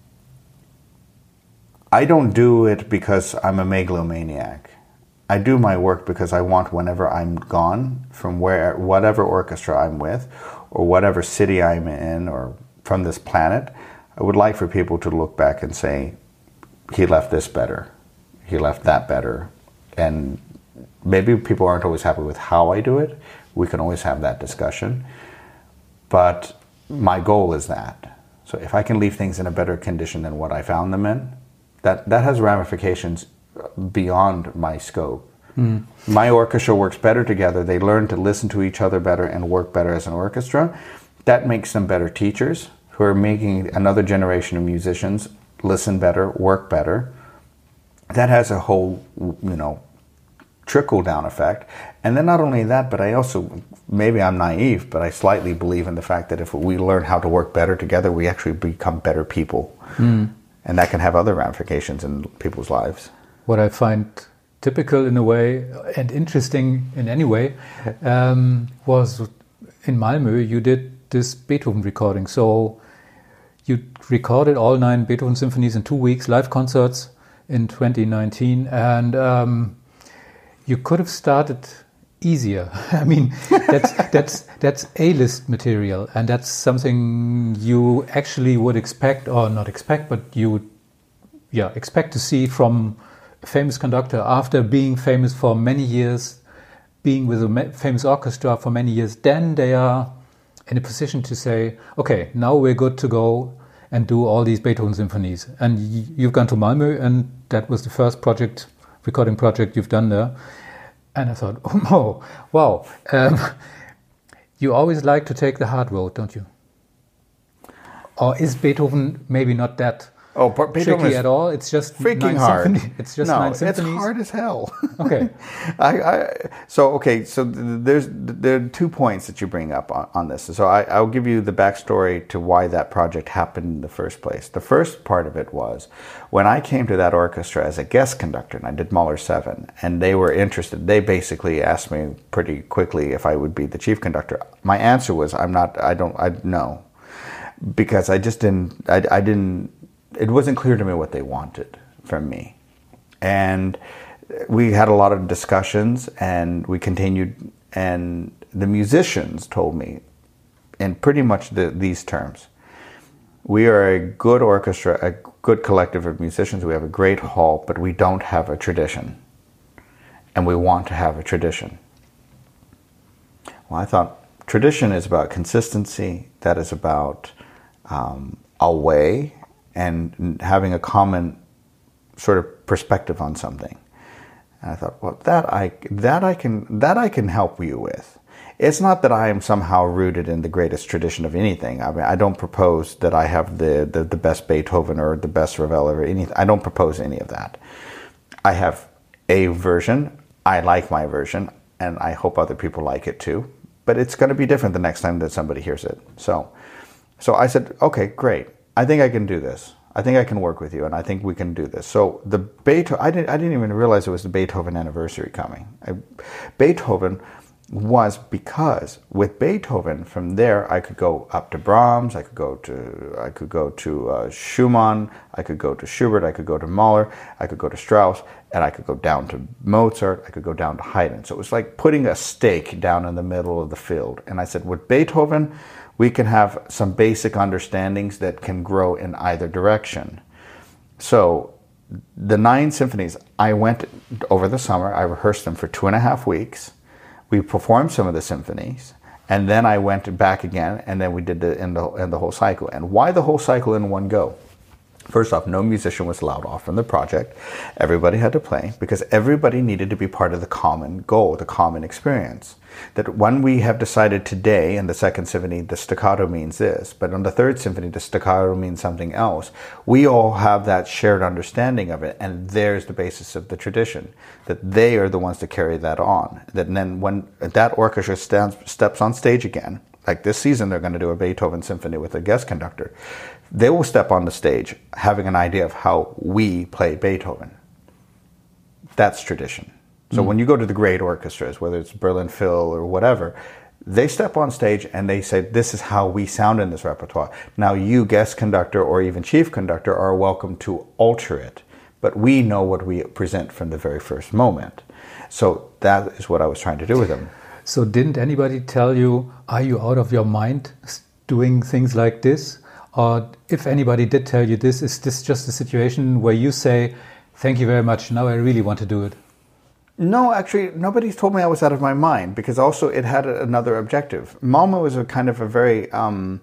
I don't do it because I'm a megalomaniac. I do my work because I want, whenever I'm gone from where, whatever orchestra I'm with, or whatever city I'm in, or from this planet, I would like for people to look back and say, he left this better, he left that better. And maybe people aren't always happy with how I do it. We can always have that discussion. But my goal is that. So if I can leave things in a better condition than what I found them in, that, that has ramifications beyond my scope. Mm. My orchestra works better together. They learn to listen to each other better and work better as an orchestra. That makes them better teachers who are making another generation of musicians listen better, work better. That has a whole, you know, trickle-down effect. And then not only that, but I also, maybe I'm naive, but I slightly believe in the fact that if we learn how to work better together, we actually become better people. Mm. And that can have other ramifications in people's lives. What I find typical in a way, and interesting in any way, um, was in Malmö you did this Beethoven recording. So you recorded all nine Beethoven symphonies in two weeks, live concerts in twenty nineteen, and um, you could have started easier. I mean, that's that's that's A-list material, and that's something you actually would expect, or not expect, but you would, yeah, expect to see from a famous conductor after being famous for many years, being with a famous orchestra for many years. Then they are in a position to say, okay, now we're good to go and do all these Beethoven symphonies. And you've gone to Malmö, and that was the first project, recording project you've done there. And I thought, oh, wow. Um, you always like to take the hard road, don't you? Or is Beethoven maybe not that oh, but Beethoven tricky at all? It's just freaking nine hard. Symphony. It's just no, nine symphonies. it's hard as hell. Okay. I, I, so okay, so there's there are two points that you bring up on, on this. So I, I'll give you the backstory to why that project happened in the first place. The first part of it was when I came to that orchestra as a guest conductor, and I did Mahler seven, and they were interested. They basically asked me pretty quickly if I would be the chief conductor. My answer was, I'm not. I don't. I no, because I just didn't. I, I didn't. It wasn't clear to me what they wanted from me. And we had a lot of discussions, and we continued, and the musicians told me in pretty much the, these terms: we are a good orchestra, a good collective of musicians, we have a great hall, but we don't have a tradition. And we want to have a tradition. Well, I thought tradition is about consistency, that is about um, a way, and having a common sort of perspective on something. And I thought, well, that I that I can that I can help you with. It's not that I am somehow rooted in the greatest tradition of anything. I mean, I don't propose that I have the the, the best Beethoven or the best Ravel or anything. I don't propose any of that. I have a version. I like my version, and I hope other people like it too. But it's going to be different the next time that somebody hears it. So, so I said, okay, great. I think I can do this. I think I can work with you, and I think we can do this. So the Beethoven, I didn't, I didn't even realize it was the Beethoven anniversary coming. I, Beethoven was because with Beethoven, from there I could go up to Brahms, I could go to, I could go to uh, Schumann, I could go to Schubert, I could go to Mahler, I could go to Strauss, and I could go down to Mozart, I could go down to Haydn. So it was like putting a stake down in the middle of the field. And I said, with Beethoven, we can have some basic understandings that can grow in either direction. So the nine symphonies, I went over the summer, I rehearsed them for two and a half weeks. We performed some of the symphonies, and then I went back again, and then we did the in the in the whole cycle. And why the whole cycle in one go? First off, no musician was allowed off from the project. Everybody had to play because everybody needed to be part of the common goal, the common experience. That when we have decided today in the second symphony, the staccato means this, but on the third symphony, the staccato means something else. We all have that shared understanding of it, and there's the basis of the tradition, that they are the ones that carry that on. That then when that orchestra stands, steps on stage again, like this season they're going to do a Beethoven symphony with a guest conductor, they will step on the stage having an idea of how we play Beethoven. That's tradition. So mm. when you go to the great orchestras, whether it's Berlin Phil or whatever, they step on stage and they say, this is how we sound in this repertoire. Now you, guest conductor or even chief conductor, are welcome to alter it. But we know what we present from the very first moment. So that is what I was trying to do with them. So didn't anybody tell you, are you out of your mind doing things like this? Or if anybody did tell you this, is this just a situation where you say, thank you very much, now I really want to do it? No, actually, nobody's told me I was out of my mind, because also it had another objective. Malmö was a kind of a very, um,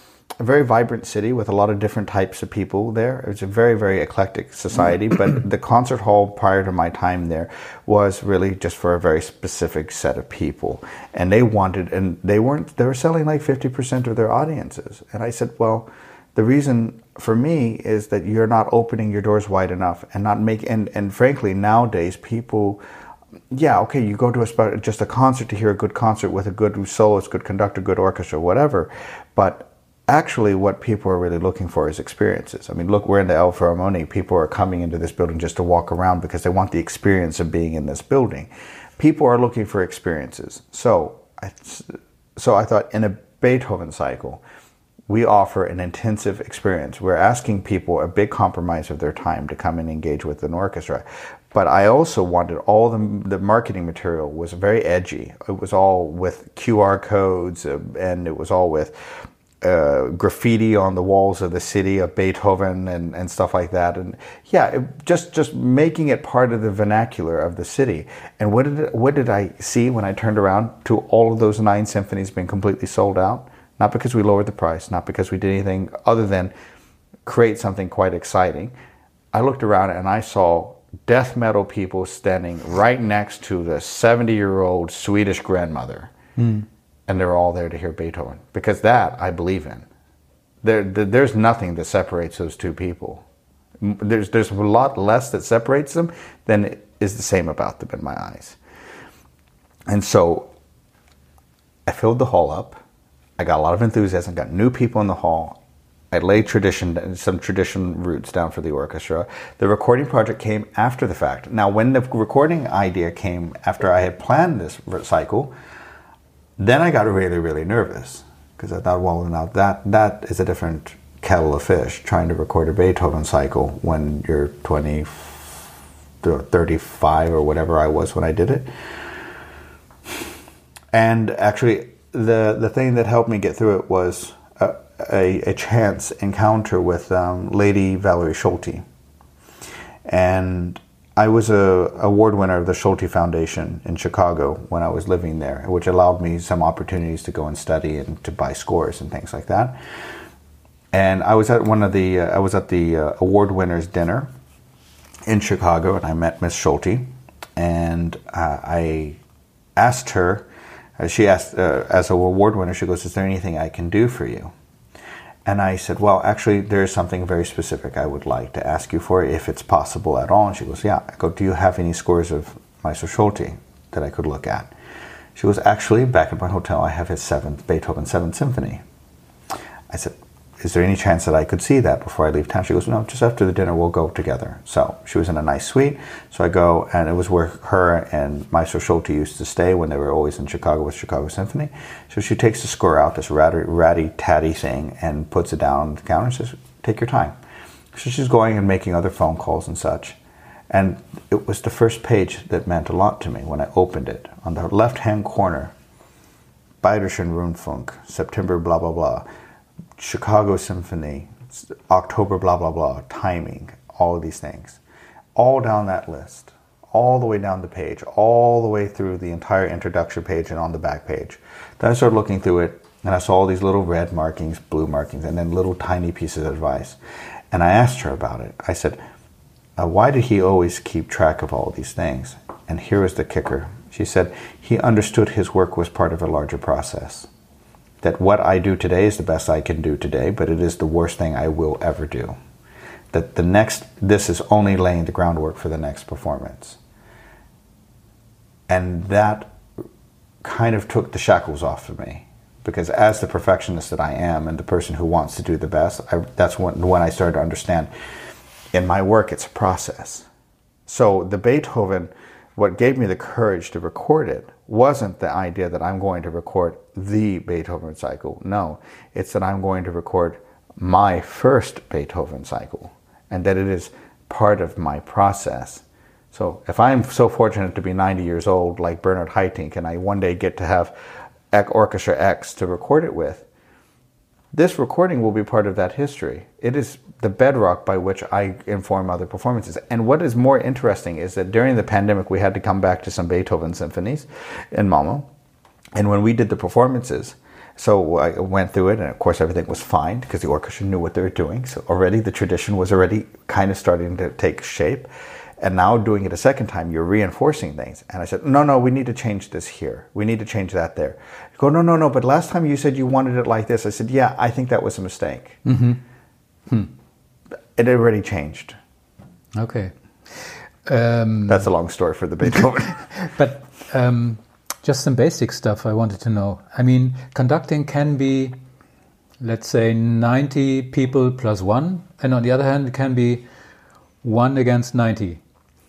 a very vibrant city with a lot of different types of people there. It was a very, very eclectic society, but the concert hall prior to my time there was really just for a very specific set of people. And they wanted, and they weren't, they were selling like fifty percent of their audiences. And I said, well, the reason for me is that you're not opening your doors wide enough and not make, and, and frankly, nowadays people, yeah, okay, you go to a, just a concert to hear a good concert with a good soloist, good conductor, good orchestra, whatever, but actually what people are really looking for is experiences. I mean, look, we're in the Elbphilharmonie. People are coming into this building just to walk around because they want the experience of being in this building. People are looking for experiences. So I, so I thought in a Beethoven cycle, we offer an intensive experience. We're asking people a big compromise of their time to come and engage with an orchestra. But I also wanted all the, the marketing material was very edgy. It was all with Q R codes, uh, and it was all with Uh, graffiti on the walls of the city of Beethoven and, and stuff like that. And yeah, it, just just making it part of the vernacular of the city. And what did it, what did I see when I turned around to all of those nine symphonies being completely sold out? Not because we lowered the price, not because we did anything other than create something quite exciting. I looked around and I saw death metal people standing right next to the seventy-year-old Swedish grandmother. Mm. And they're all there to hear Beethoven. Because that, I believe in. There, there, there's nothing that separates those two people. There's, there's a lot less that separates them than is the same about them in my eyes. And so, I filled the hall up. I got a lot of enthusiasm, got new people in the hall. I laid tradition, some tradition roots down for the orchestra. The recording project came after the fact. Now, when the recording idea came after I had planned this cycle, then I got really, really nervous, because I thought, well, now that that is a different kettle of fish, trying to record a Beethoven cycle when you're twenty, thirty-five or whatever I was when I did it. And actually, the, the thing that helped me get through it was a, a, a chance encounter with um, Lady Valerie Schulte. And I was a award winner of the Schulte Foundation in Chicago when I was living there, which allowed me some opportunities to go and study and to buy scores and things like that. And I was at one of the uh, I was at the uh, award winners dinner in Chicago, and I met Miss Schulte, and uh, I asked her. Uh, she asked, uh, as an award winner, she goes, "Is there anything I can do for you?" And I said, well, actually, there's something very specific I would like to ask you for, if it's possible at all. And she goes, yeah. I go, do you have any scores of Maestro Schulte that I could look at? She goes, actually, back at my hotel, I have his seventh, Beethoven seventh Symphony. I said, is there any chance that I could see that before I leave town? She goes, no, just after the dinner, we'll go together. So she was in a nice suite. So I go, and it was where her and Maestro Schulte used to stay when they were always in Chicago with Chicago Symphony. So she takes the score out, this ratty, ratty, tatty thing, and puts it down on the counter and says, take your time. So she's going and making other phone calls and such. And it was the first page that meant a lot to me when I opened it. On the left-hand corner, Bayerischen Rundfunk, September blah, blah, blah. Chicago Symphony, October blah, blah, blah, timing, all of these things. all down that list, all the way down the page, all the way through the entire introduction page and on the back page. Then I started looking through it, and I saw all these little red markings, blue markings, and then little tiny pieces of advice. And I asked her about it. I said, uh, why did he always keep track of all these things? And here was the kicker. She said, he understood his work was part of a larger process. That what I do today is the best I can do today, but it is the worst thing I will ever do. That the next, this is only laying the groundwork for the next performance. And that kind of took the shackles off of me. Because as the perfectionist that I am and the person who wants to do the best, I, that's when, when I started to understand in my work it's a process. So the Beethoven, what gave me the courage to record it wasn't the idea that I'm going to record the Beethoven cycle. No, it's that I'm going to record my first Beethoven cycle and that it is part of my process. So if I'm so fortunate to be ninety years old like Bernard Haitink and I one day get to have Orchestra X to record it with, this recording will be part of that history. It is the bedrock by which I inform other performances. And what is more interesting is that during the pandemic, we had to come back to some Beethoven symphonies in Malmo. And when we did the performances, so I went through it, and of course everything was fine because the orchestra knew what they were doing. So already the tradition was already kind of starting to take shape. And now doing it a second time, you're reinforcing things. And I said, no, no, we need to change this here. We need to change that there. You go, no, no, no, but last time you said you wanted it like this. I said, yeah, I think that was a mistake. Mm-hmm. Hmm. It already changed. Okay. Um, That's a long story for the Beethoven. but um, just some basic stuff I wanted to know. I mean, conducting can be, let's say, ninety people plus one. And on the other hand, it can be one against ninety.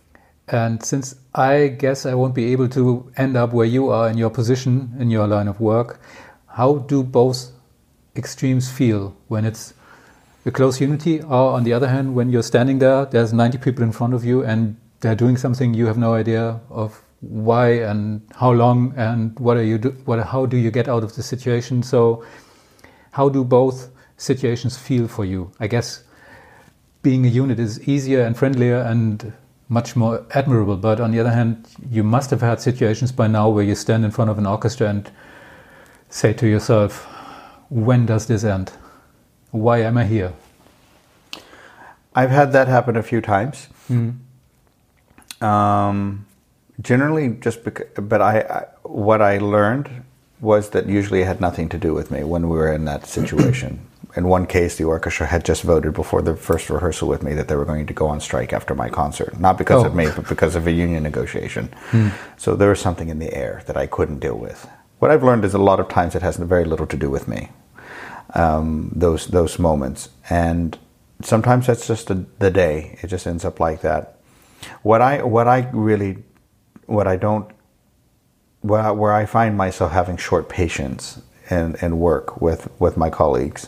And since I guess I won't be able to end up where you are in your position, in your line of work, how do both extremes feel when it's a close unity, or on the other hand, when you're standing there, there's ninety people in front of you and they're doing something you have no idea of why and how long and what are you do, what, how do you get out of the situation? So how do both situations feel for you? I guess being a unit is easier and friendlier and much more admirable. But on the other hand, you must have had situations by now where you stand in front of an orchestra and say to yourself, when does this end? Why am I here? I've had that happen a few times. Mm-hmm. Um, generally, just because, but I, I, what I learned was that usually it had nothing to do with me when we were in that situation. In one case, the orchestra had just voted before the first rehearsal with me that they were going to go on strike after my concert. Not because oh. of me, but because of a union negotiation. Mm. So there was something in the air that I couldn't deal with. What I've learned is a lot of times it has very little to do with me, um, those those moments. And sometimes that's just a, the day. It just ends up like that. What I what I really, what I don't, where I, where I find myself having short patience and, and work with, with my colleagues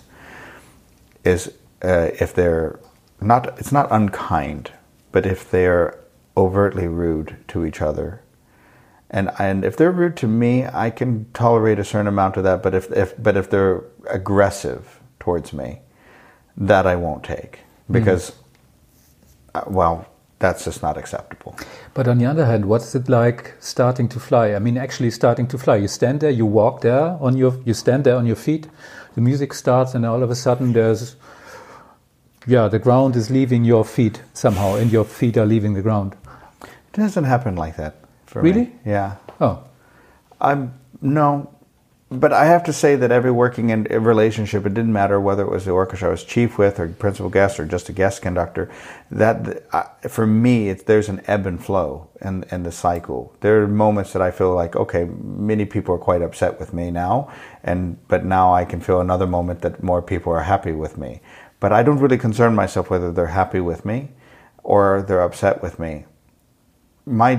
is uh, if they're not, it's not unkind, but if they're overtly rude to each other. And and if they're rude to me, I can tolerate a certain amount of that, but if, if but if they're aggressive towards me, that I won't take. Because, mm. uh, well, that's just not acceptable. But on the other hand, what's it like starting to fly? I mean, actually starting to fly. You stand there, you walk there on your, you stand there on your feet, the music starts, and all of a sudden there's, yeah, the ground is leaving your feet somehow, and your feet are leaving the ground. It doesn't happen like that for really? me. Yeah. Oh. I'm, no. But I have to say that every working in a relationship, it didn't matter whether it was the orchestra I was chief with or principal guest or just a guest conductor, that uh, for me, it's, there's an ebb and flow in, in the cycle. There are moments that I feel like, okay, many people are quite upset with me now, and but now I can feel another moment that more people are happy with me. But I don't really concern myself whether they're happy with me or they're upset with me. My,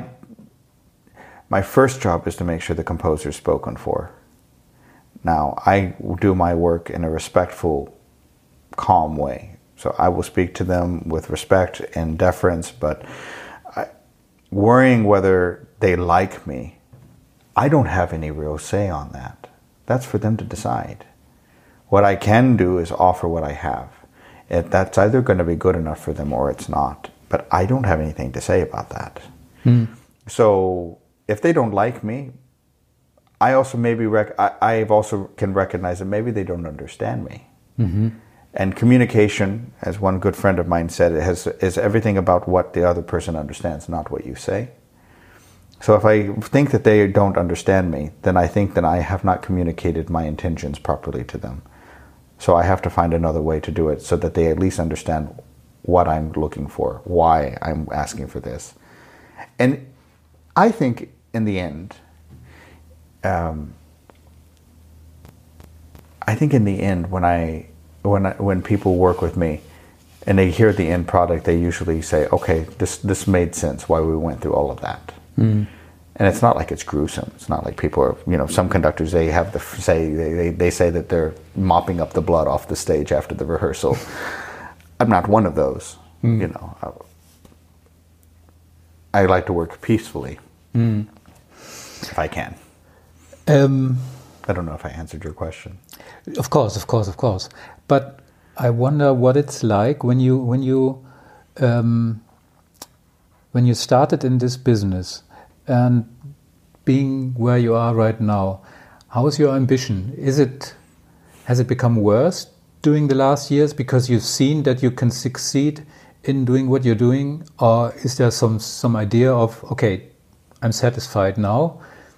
my first job is to make sure the composer is spoken for. Now, I do my work in a respectful, calm way. So I will speak to them with respect and deference, but I, worrying whether they like me, I don't have any real say on that. That's for them to decide. What I can do is offer what I have. It, that's either going to be good enough for them or it's not. but I don't have anything to say about that. Mm. So if they don't like me, I also maybe rec- I I've also can recognize that maybe they don't understand me. Mm-hmm. And communication, as one good friend of mine said, it has is everything about what the other person understands, not what you say. So if I think that they don't understand me, then I think that I have not communicated my intentions properly to them. So I have to find another way to do it so that they at least understand what I'm looking for, why I'm asking for this. And I think in the end, um, I think in the end, when I when I, when people work with me and they hear the end product, they usually say, "Okay, this this made sense. Why we went through all of that." Mm. And it's not like it's gruesome. It's not like people are, you know, some conductors, they have the say they, they, they say that they're mopping up the blood off the stage after the rehearsal. I'm not one of those. Mm. You know, I, I like to work peacefully mm. if I can. Um, I don't know if I answered your question. Of course, of course, of course. But I wonder what it's like when you when you um, when you started in this business and being where you are right now. How is your ambition? Is it has it become worse during the last years because you've seen that you can succeed in doing what you're doing, or is there some some idea of, okay, I'm satisfied now,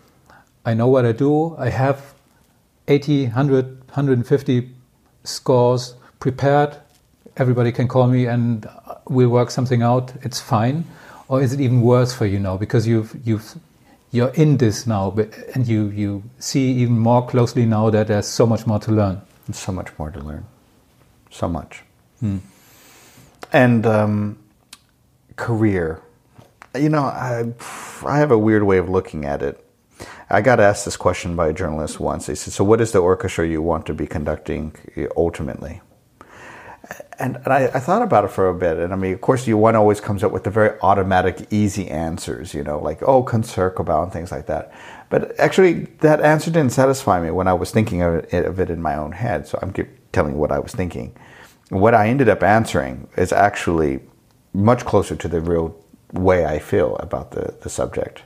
I know what I do, I have eighty, one hundred, one hundred fifty scores prepared, everybody can call me and we'll work something out, it's fine? Or is it even worse for you now because you've you've you're in this now, but and you you see even more closely now that there's so much more to learn? There's so much more to learn, so much. Hmm. And um, career, you know, I I have a weird way of looking at it. I got asked this question by a journalist once. They said, "So, what is the orchestra you want to be conducting ultimately?" And, and I, I thought about it for a bit. And I mean, of course, you, one always comes up with the very automatic, easy answers, you know, like, oh, Concertgebouw and things like that. But actually, that answer didn't satisfy me when I was thinking of it, of it in my own head. So I'm telling you what I was thinking. What I ended up answering is actually much closer to the real way I feel about the, the subject.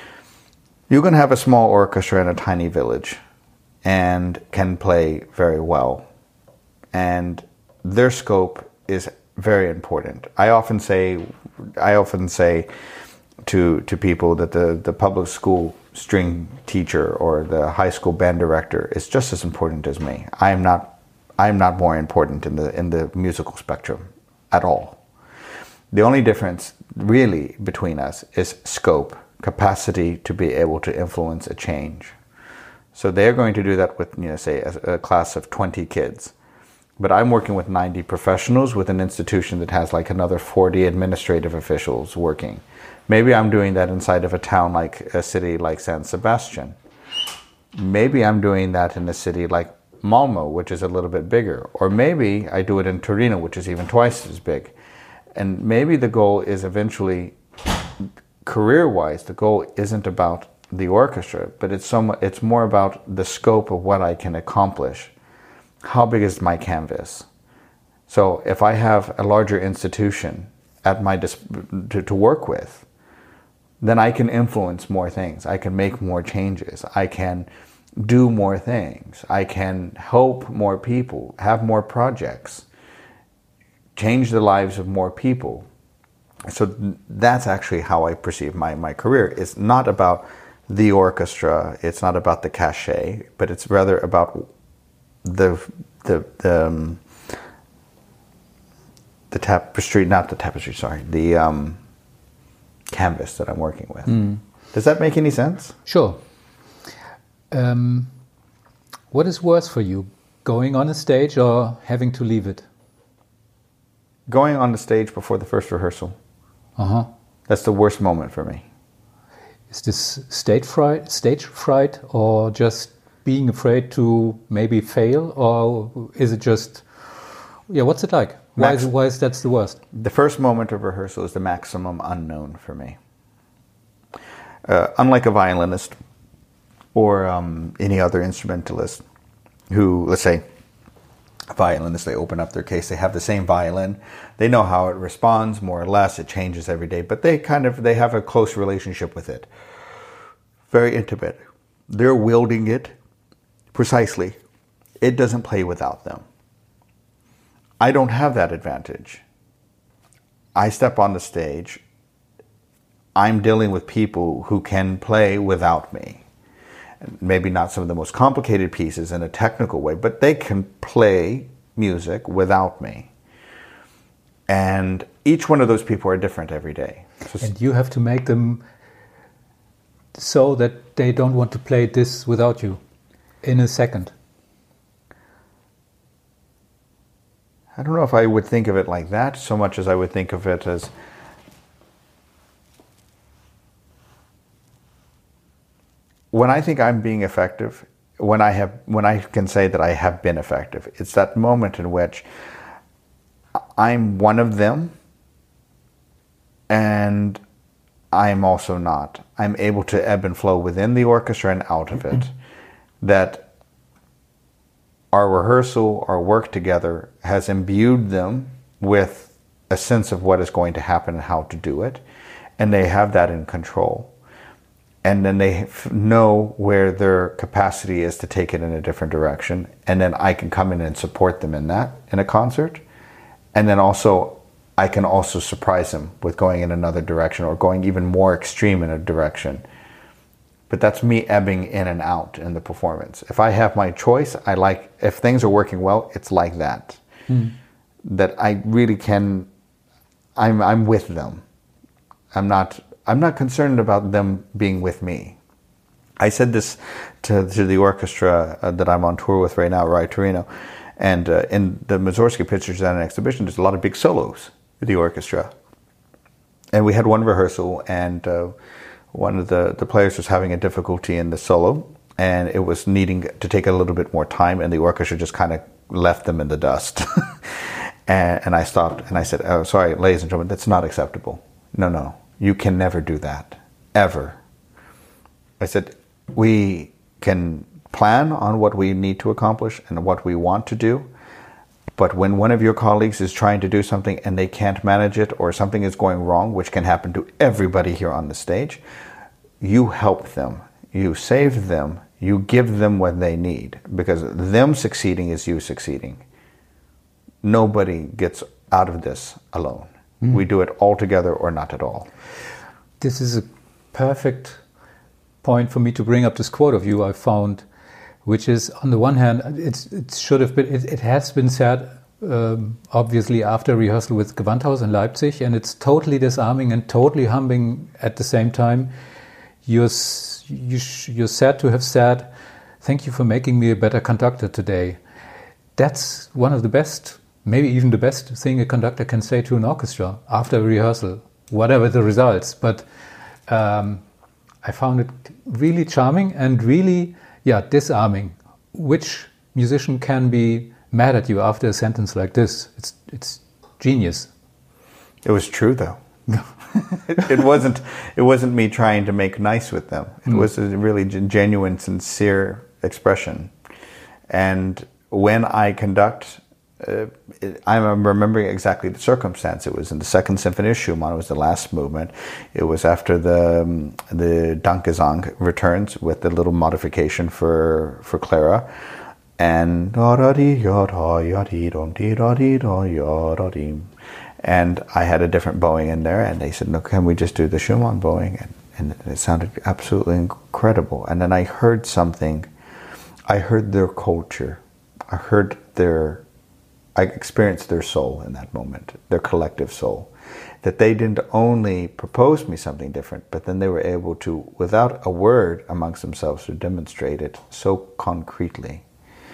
You can have a small orchestra in a tiny village and can play very well. And their scope is very important. I often say, I often say to to people that the, the public school string teacher or the high school band director is just as important as me. I am not I am not more important in the in the musical spectrum at all. The only difference really between us is scope, capacity to be able to influence a change. So they're going to do that with, you know, say a, a class of twenty kids. But I'm working with ninety professionals with an institution that has like another forty administrative officials working. Maybe I'm doing that inside of a town like a city like San Sebastian. Maybe I'm doing that in a city like Malmo, which is a little bit bigger. Or maybe I do it in Torino, which is even twice as big. And maybe the goal is eventually, career-wise, the goal isn't about the orchestra, but it's some, it's more about the scope of what I can accomplish. How big is my canvas? So if I have a larger institution at my dis- to, to work with, then I can influence more things. I can make more changes. I can do more things. I can help more people, have more projects, change the lives of more people. So that's actually how I perceive my, my career. It's not about the orchestra. It's not about the cachet, but it's rather about the the the, um, the tapestry, not the tapestry, sorry, the um, canvas that I'm working with. Mm. Does that make any sense? Sure. Um, what is worse for you, going on a stage or having to leave it? Going on the stage before the first rehearsal. Uh-huh. That's the worst moment for me. Is this stage fright, stage fright, or just being afraid to maybe fail, or is it just, yeah, what's it like? Why Max- is, why is that the worst? The first moment of rehearsal is the maximum unknown for me. Uh, unlike a violinist or um, any other instrumentalist who, let's say, violinists, they open up their case, they have the same violin, they know how it responds more or less, it changes every day, but they kind of, they have a close relationship with it. Very intimate. They're wielding it precisely. It doesn't play without them. I don't have that advantage. I step on the stage, I'm dealing with people who can play without me. Maybe not some of the most complicated pieces in a technical way, but they can play music without me. And each one of those people are different every day. So and you have to make them so that they don't want to play this without you in a second. I don't know if I would think of it like that so much as I would think of it as when I think I'm being effective, when I have, when I can say that I have been effective, it's that moment in which I'm one of them and I'm also not. I'm able to ebb and flow within the orchestra and out of it. That our rehearsal, our work together has imbued them with a sense of what is going to happen and how to do it. And they have that in control. And then they f- know where their capacity is to take it in a different direction. And then I can come in and support them in that, in a concert. And then also, I can also surprise them with going in another direction or going even more extreme in a direction. But that's me ebbing in and out in the performance. If I have my choice, I like, if things are working well, it's like that. Mm. That I really can, I'm I'm with them. I'm not I'm not concerned about them being with me. I said this to, to the orchestra uh, that I'm on tour with right now, Rai Torino, and uh, in the Mussorgsky Pictures and Exhibition, there's a lot of big solos with the orchestra. And we had one rehearsal, and uh, one of the, the players was having a difficulty in the solo, and it was needing to take a little bit more time, and the orchestra just kind of left them in the dust. and, and I stopped, and I said, oh, sorry, ladies and gentlemen, that's not acceptable. No, no. You can never do that, ever. I said, we can plan on what we need to accomplish and what we want to do, but when one of your colleagues is trying to do something and they can't manage it or something is going wrong, which can happen to everybody here on the stage, you help them, you save them, you give them what they need, because them succeeding is you succeeding. Nobody gets out of this alone. Mm. We do it all together or not at all. This is a perfect point for me to bring up this quote of you I found, which is, on the one hand, it's, it should have been, it, it has been said, um, obviously after rehearsal with Gewandhaus in Leipzig, and it's totally disarming and totally humbling at the same time. You're, you, you're said to have said, "Thank you for making me a better conductor today." That's one of the best, maybe even the best thing a conductor can say to an orchestra after a rehearsal, whatever the results. But um, I found it really charming and really, yeah, disarming. Which musician can be mad at you after a sentence like this? It's it's genius. It was true, though. it, it wasn't. It wasn't me trying to make nice with them. It mm. was a really genuine, sincere expression. And when I conduct, uh, it, I'm remembering exactly the circumstance. It was in the Second Symphony of Schumann. It was the last movement. It was after the um, the Dankgesang returns with the little modification for for Clara, and and I had a different bowing in there, and they said, "No, can we just do the Schumann bowing?" And, and it sounded absolutely incredible. And then I heard something. I heard their culture. I heard their, I experienced their soul in that moment, their collective soul. That they didn't only propose me something different, but then they were able to, without a word amongst themselves, to demonstrate it so concretely.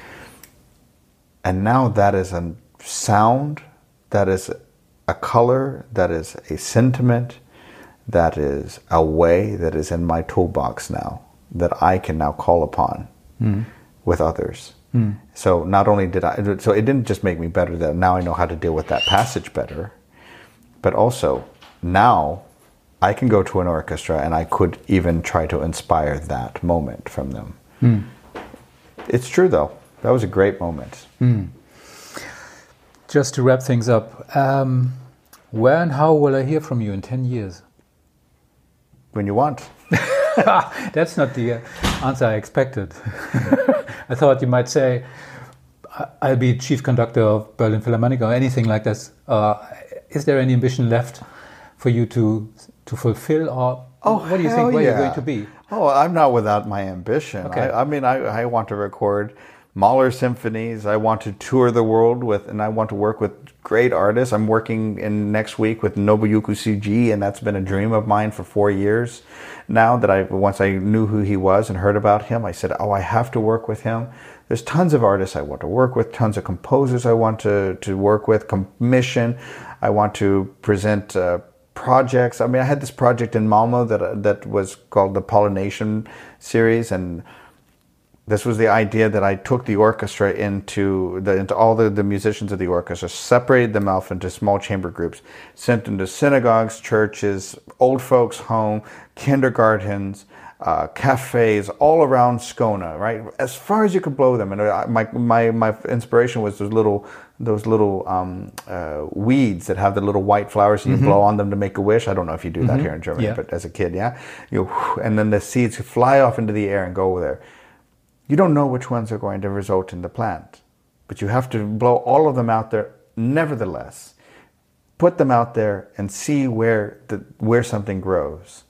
And now that is a sound, that is a color, that is a sentiment, that is a way that is in my toolbox now, that I can now call upon mm. with others. Mm. So not only did I, so it didn't just make me better that now I know how to deal with that passage better, but also now I can go to an orchestra and I could even try to inspire that moment from them. Mm. It's true though. That was a great moment. Mm. Just to wrap things up, um, where and how will I hear from you in ten years? When you want. That's not the uh, answer I expected. I thought you might say, I'll be chief conductor of Berlin Philharmonic or anything like this. Uh, is there any ambition left for you to to fulfill, or oh, what do you think where yeah. you're going to be? Oh, I'm not without my ambition. Okay. I, I mean, I, I want to record Mahler symphonies. I want to tour the world with, and I want to work with great artists. I'm working in next week with Nobuyuki Tsujii, and that's been a dream of mine for four years now. That I once I knew who he was and heard about him, I said, "Oh, I have to work with him." There's tons of artists I want to work with, tons of composers I want to to work with, commission. I want to present uh, projects. I mean, I had this project in Malmo that that was called the Pollination series, and this was the idea that I took the orchestra into the into all the, the musicians of the orchestra, separated them off into small chamber groups, sent them to synagogues, churches, old folks' home, kindergartens, uh, cafes, all around Skåne, right? As far as you could blow them. And I, my my my inspiration was those little those little um, uh, weeds that have the little white flowers, and you mm-hmm. blow on them to make a wish. I don't know if you do that mm-hmm. here in Germany, yeah. but as a kid, yeah, you and then the seeds fly off into the air and go there. You don't know which ones are going to result in the plant, but you have to blow all of them out there. Nevertheless, put them out there and see where the where something grows.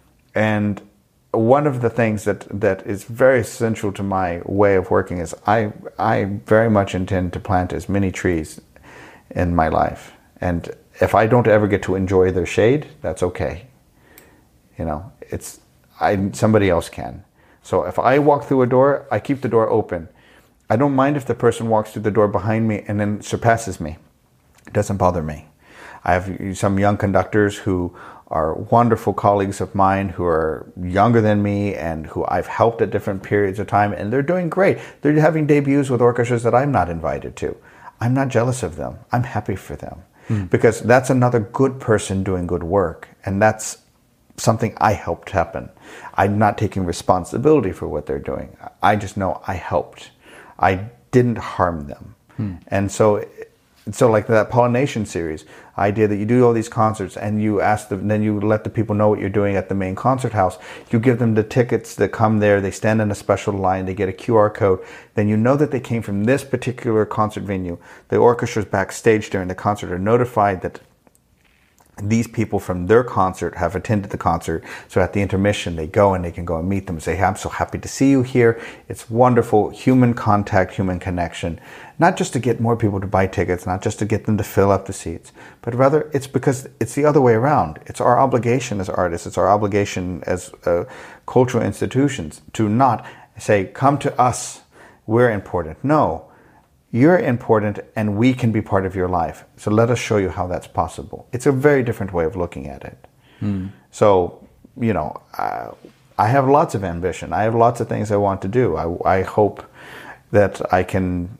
And one of the things that, that is very essential to my way of working is I I very much intend to plant as many trees in my life. And if I don't ever get to enjoy their shade, that's okay. You know, it's I somebody else can. So if I walk through a door, I keep the door open. I don't mind if the person walks through the door behind me and then surpasses me. It doesn't bother me. I have some young conductors who are wonderful colleagues of mine who are younger than me and who I've helped at different periods of time, and they're doing great. They're having debuts with orchestras that I'm not invited to. I'm not jealous of them. I'm happy for them mm. because that's another good person doing good work, and that's something I helped happen. I'm not taking responsibility for what they're doing. I just know I helped. I didn't harm them. Hmm. And so, so like that Pollination series idea that you do all these concerts and you ask them, then you let the people know what you're doing at the main concert house. You give them the tickets that come there. They stand in a special line. They get a Q R code. Then you know that they came from this particular concert venue. The orchestras backstage during the concert are notified that these people from their concert have attended the concert. So at the intermission, they go and they can go and meet them and say, hey, I'm so happy to see you here. It's wonderful. Human contact, human connection. Not just to get more people to buy tickets, not just to get them to fill up the seats, but rather it's because it's the other way around. It's our obligation as artists. It's our obligation as uh, cultural institutions to not say, come to us, we're important. No. You're important and we can be part of your life. So let us show you how that's possible. It's a very different way of looking at it. Mm. So, you know, uh, I have lots of ambition. I have lots of things I want to do. I, I hope that I can,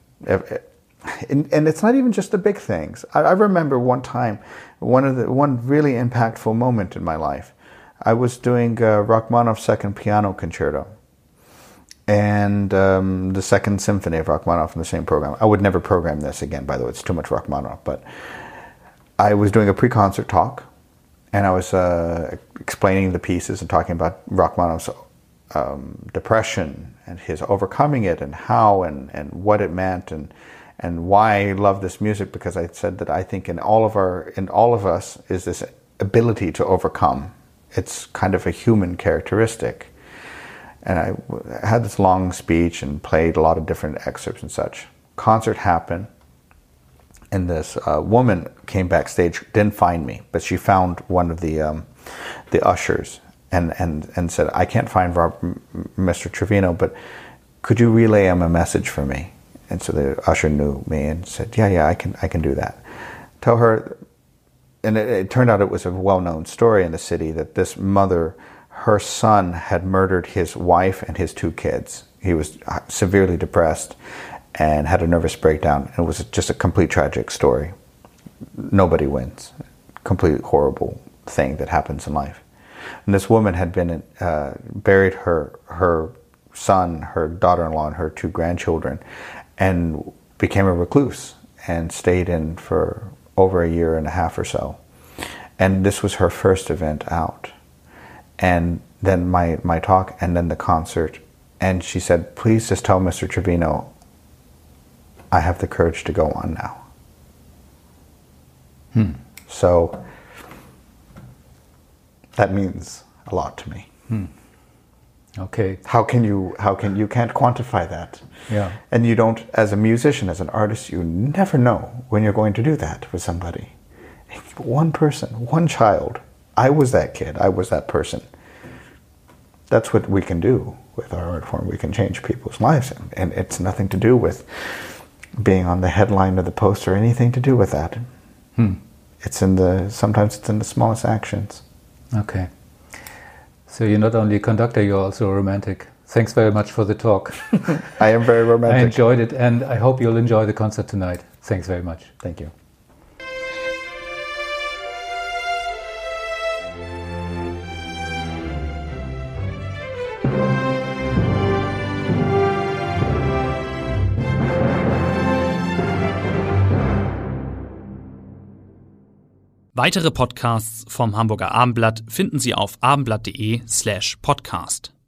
and, and it's not even just the big things. I, I remember one time, one of the one really impactful moment in my life. I was doing uh, Rachmaninoff's Second Piano Concerto. And um, the Second Symphony of Rachmaninoff in the same program. I would never program this again, by the way. It's too much Rachmaninoff. But I was doing a pre-concert talk, and I was uh, explaining the pieces and talking about Rachmaninoff's um, depression and his overcoming it, and how and, and what it meant, and and why I love this music. Because I said that I think in all of our in all of us is this ability to overcome. It's kind of a human characteristic. And I had this long speech and played a lot of different excerpts and such. Concert happened, and this uh, woman came backstage, didn't find me, but she found one of the um, the ushers and, and, and said, I can't find Rob, Mister Trevino, but could you relay him a message for me? And so the usher knew me and said, yeah, yeah, I can I can do that. Tell her, and it, it turned out it was a well-known story in the city that this mother, her son had murdered his wife and his two kids. He was severely depressed and had a nervous breakdown. It was just a complete tragic story. Nobody wins. Complete horrible thing that happens in life. And this woman had been uh, buried her her son, her daughter-in-law, and her two grandchildren, and became a recluse and stayed in for over a year and a half or so. And this was her first event out. And then my, my talk and then the concert. And she said, please just tell Mister Trevino I have the courage to go on now. Hmm. So that means a lot to me. Hmm. Okay. How can you, how can, you can't quantify that. Yeah. And you don't, as a musician, as an artist, you never know when you're going to do that with somebody. One person, one child. I was that kid. I was that person. That's what we can do with our art form. We can change people's lives. And, and it's nothing to do with being on the headline of the poster or anything to do with that. Hmm. It's in the, sometimes it's in the smallest actions. Okay. So you're not only a conductor, you're also a romantic. Thanks very much for the talk. I am very romantic. I enjoyed it, and I hope you'll enjoy the concert tonight. Thanks very much. Thank you. Weitere Podcasts vom Hamburger Abendblatt finden Sie auf abendblatt.de slash podcast.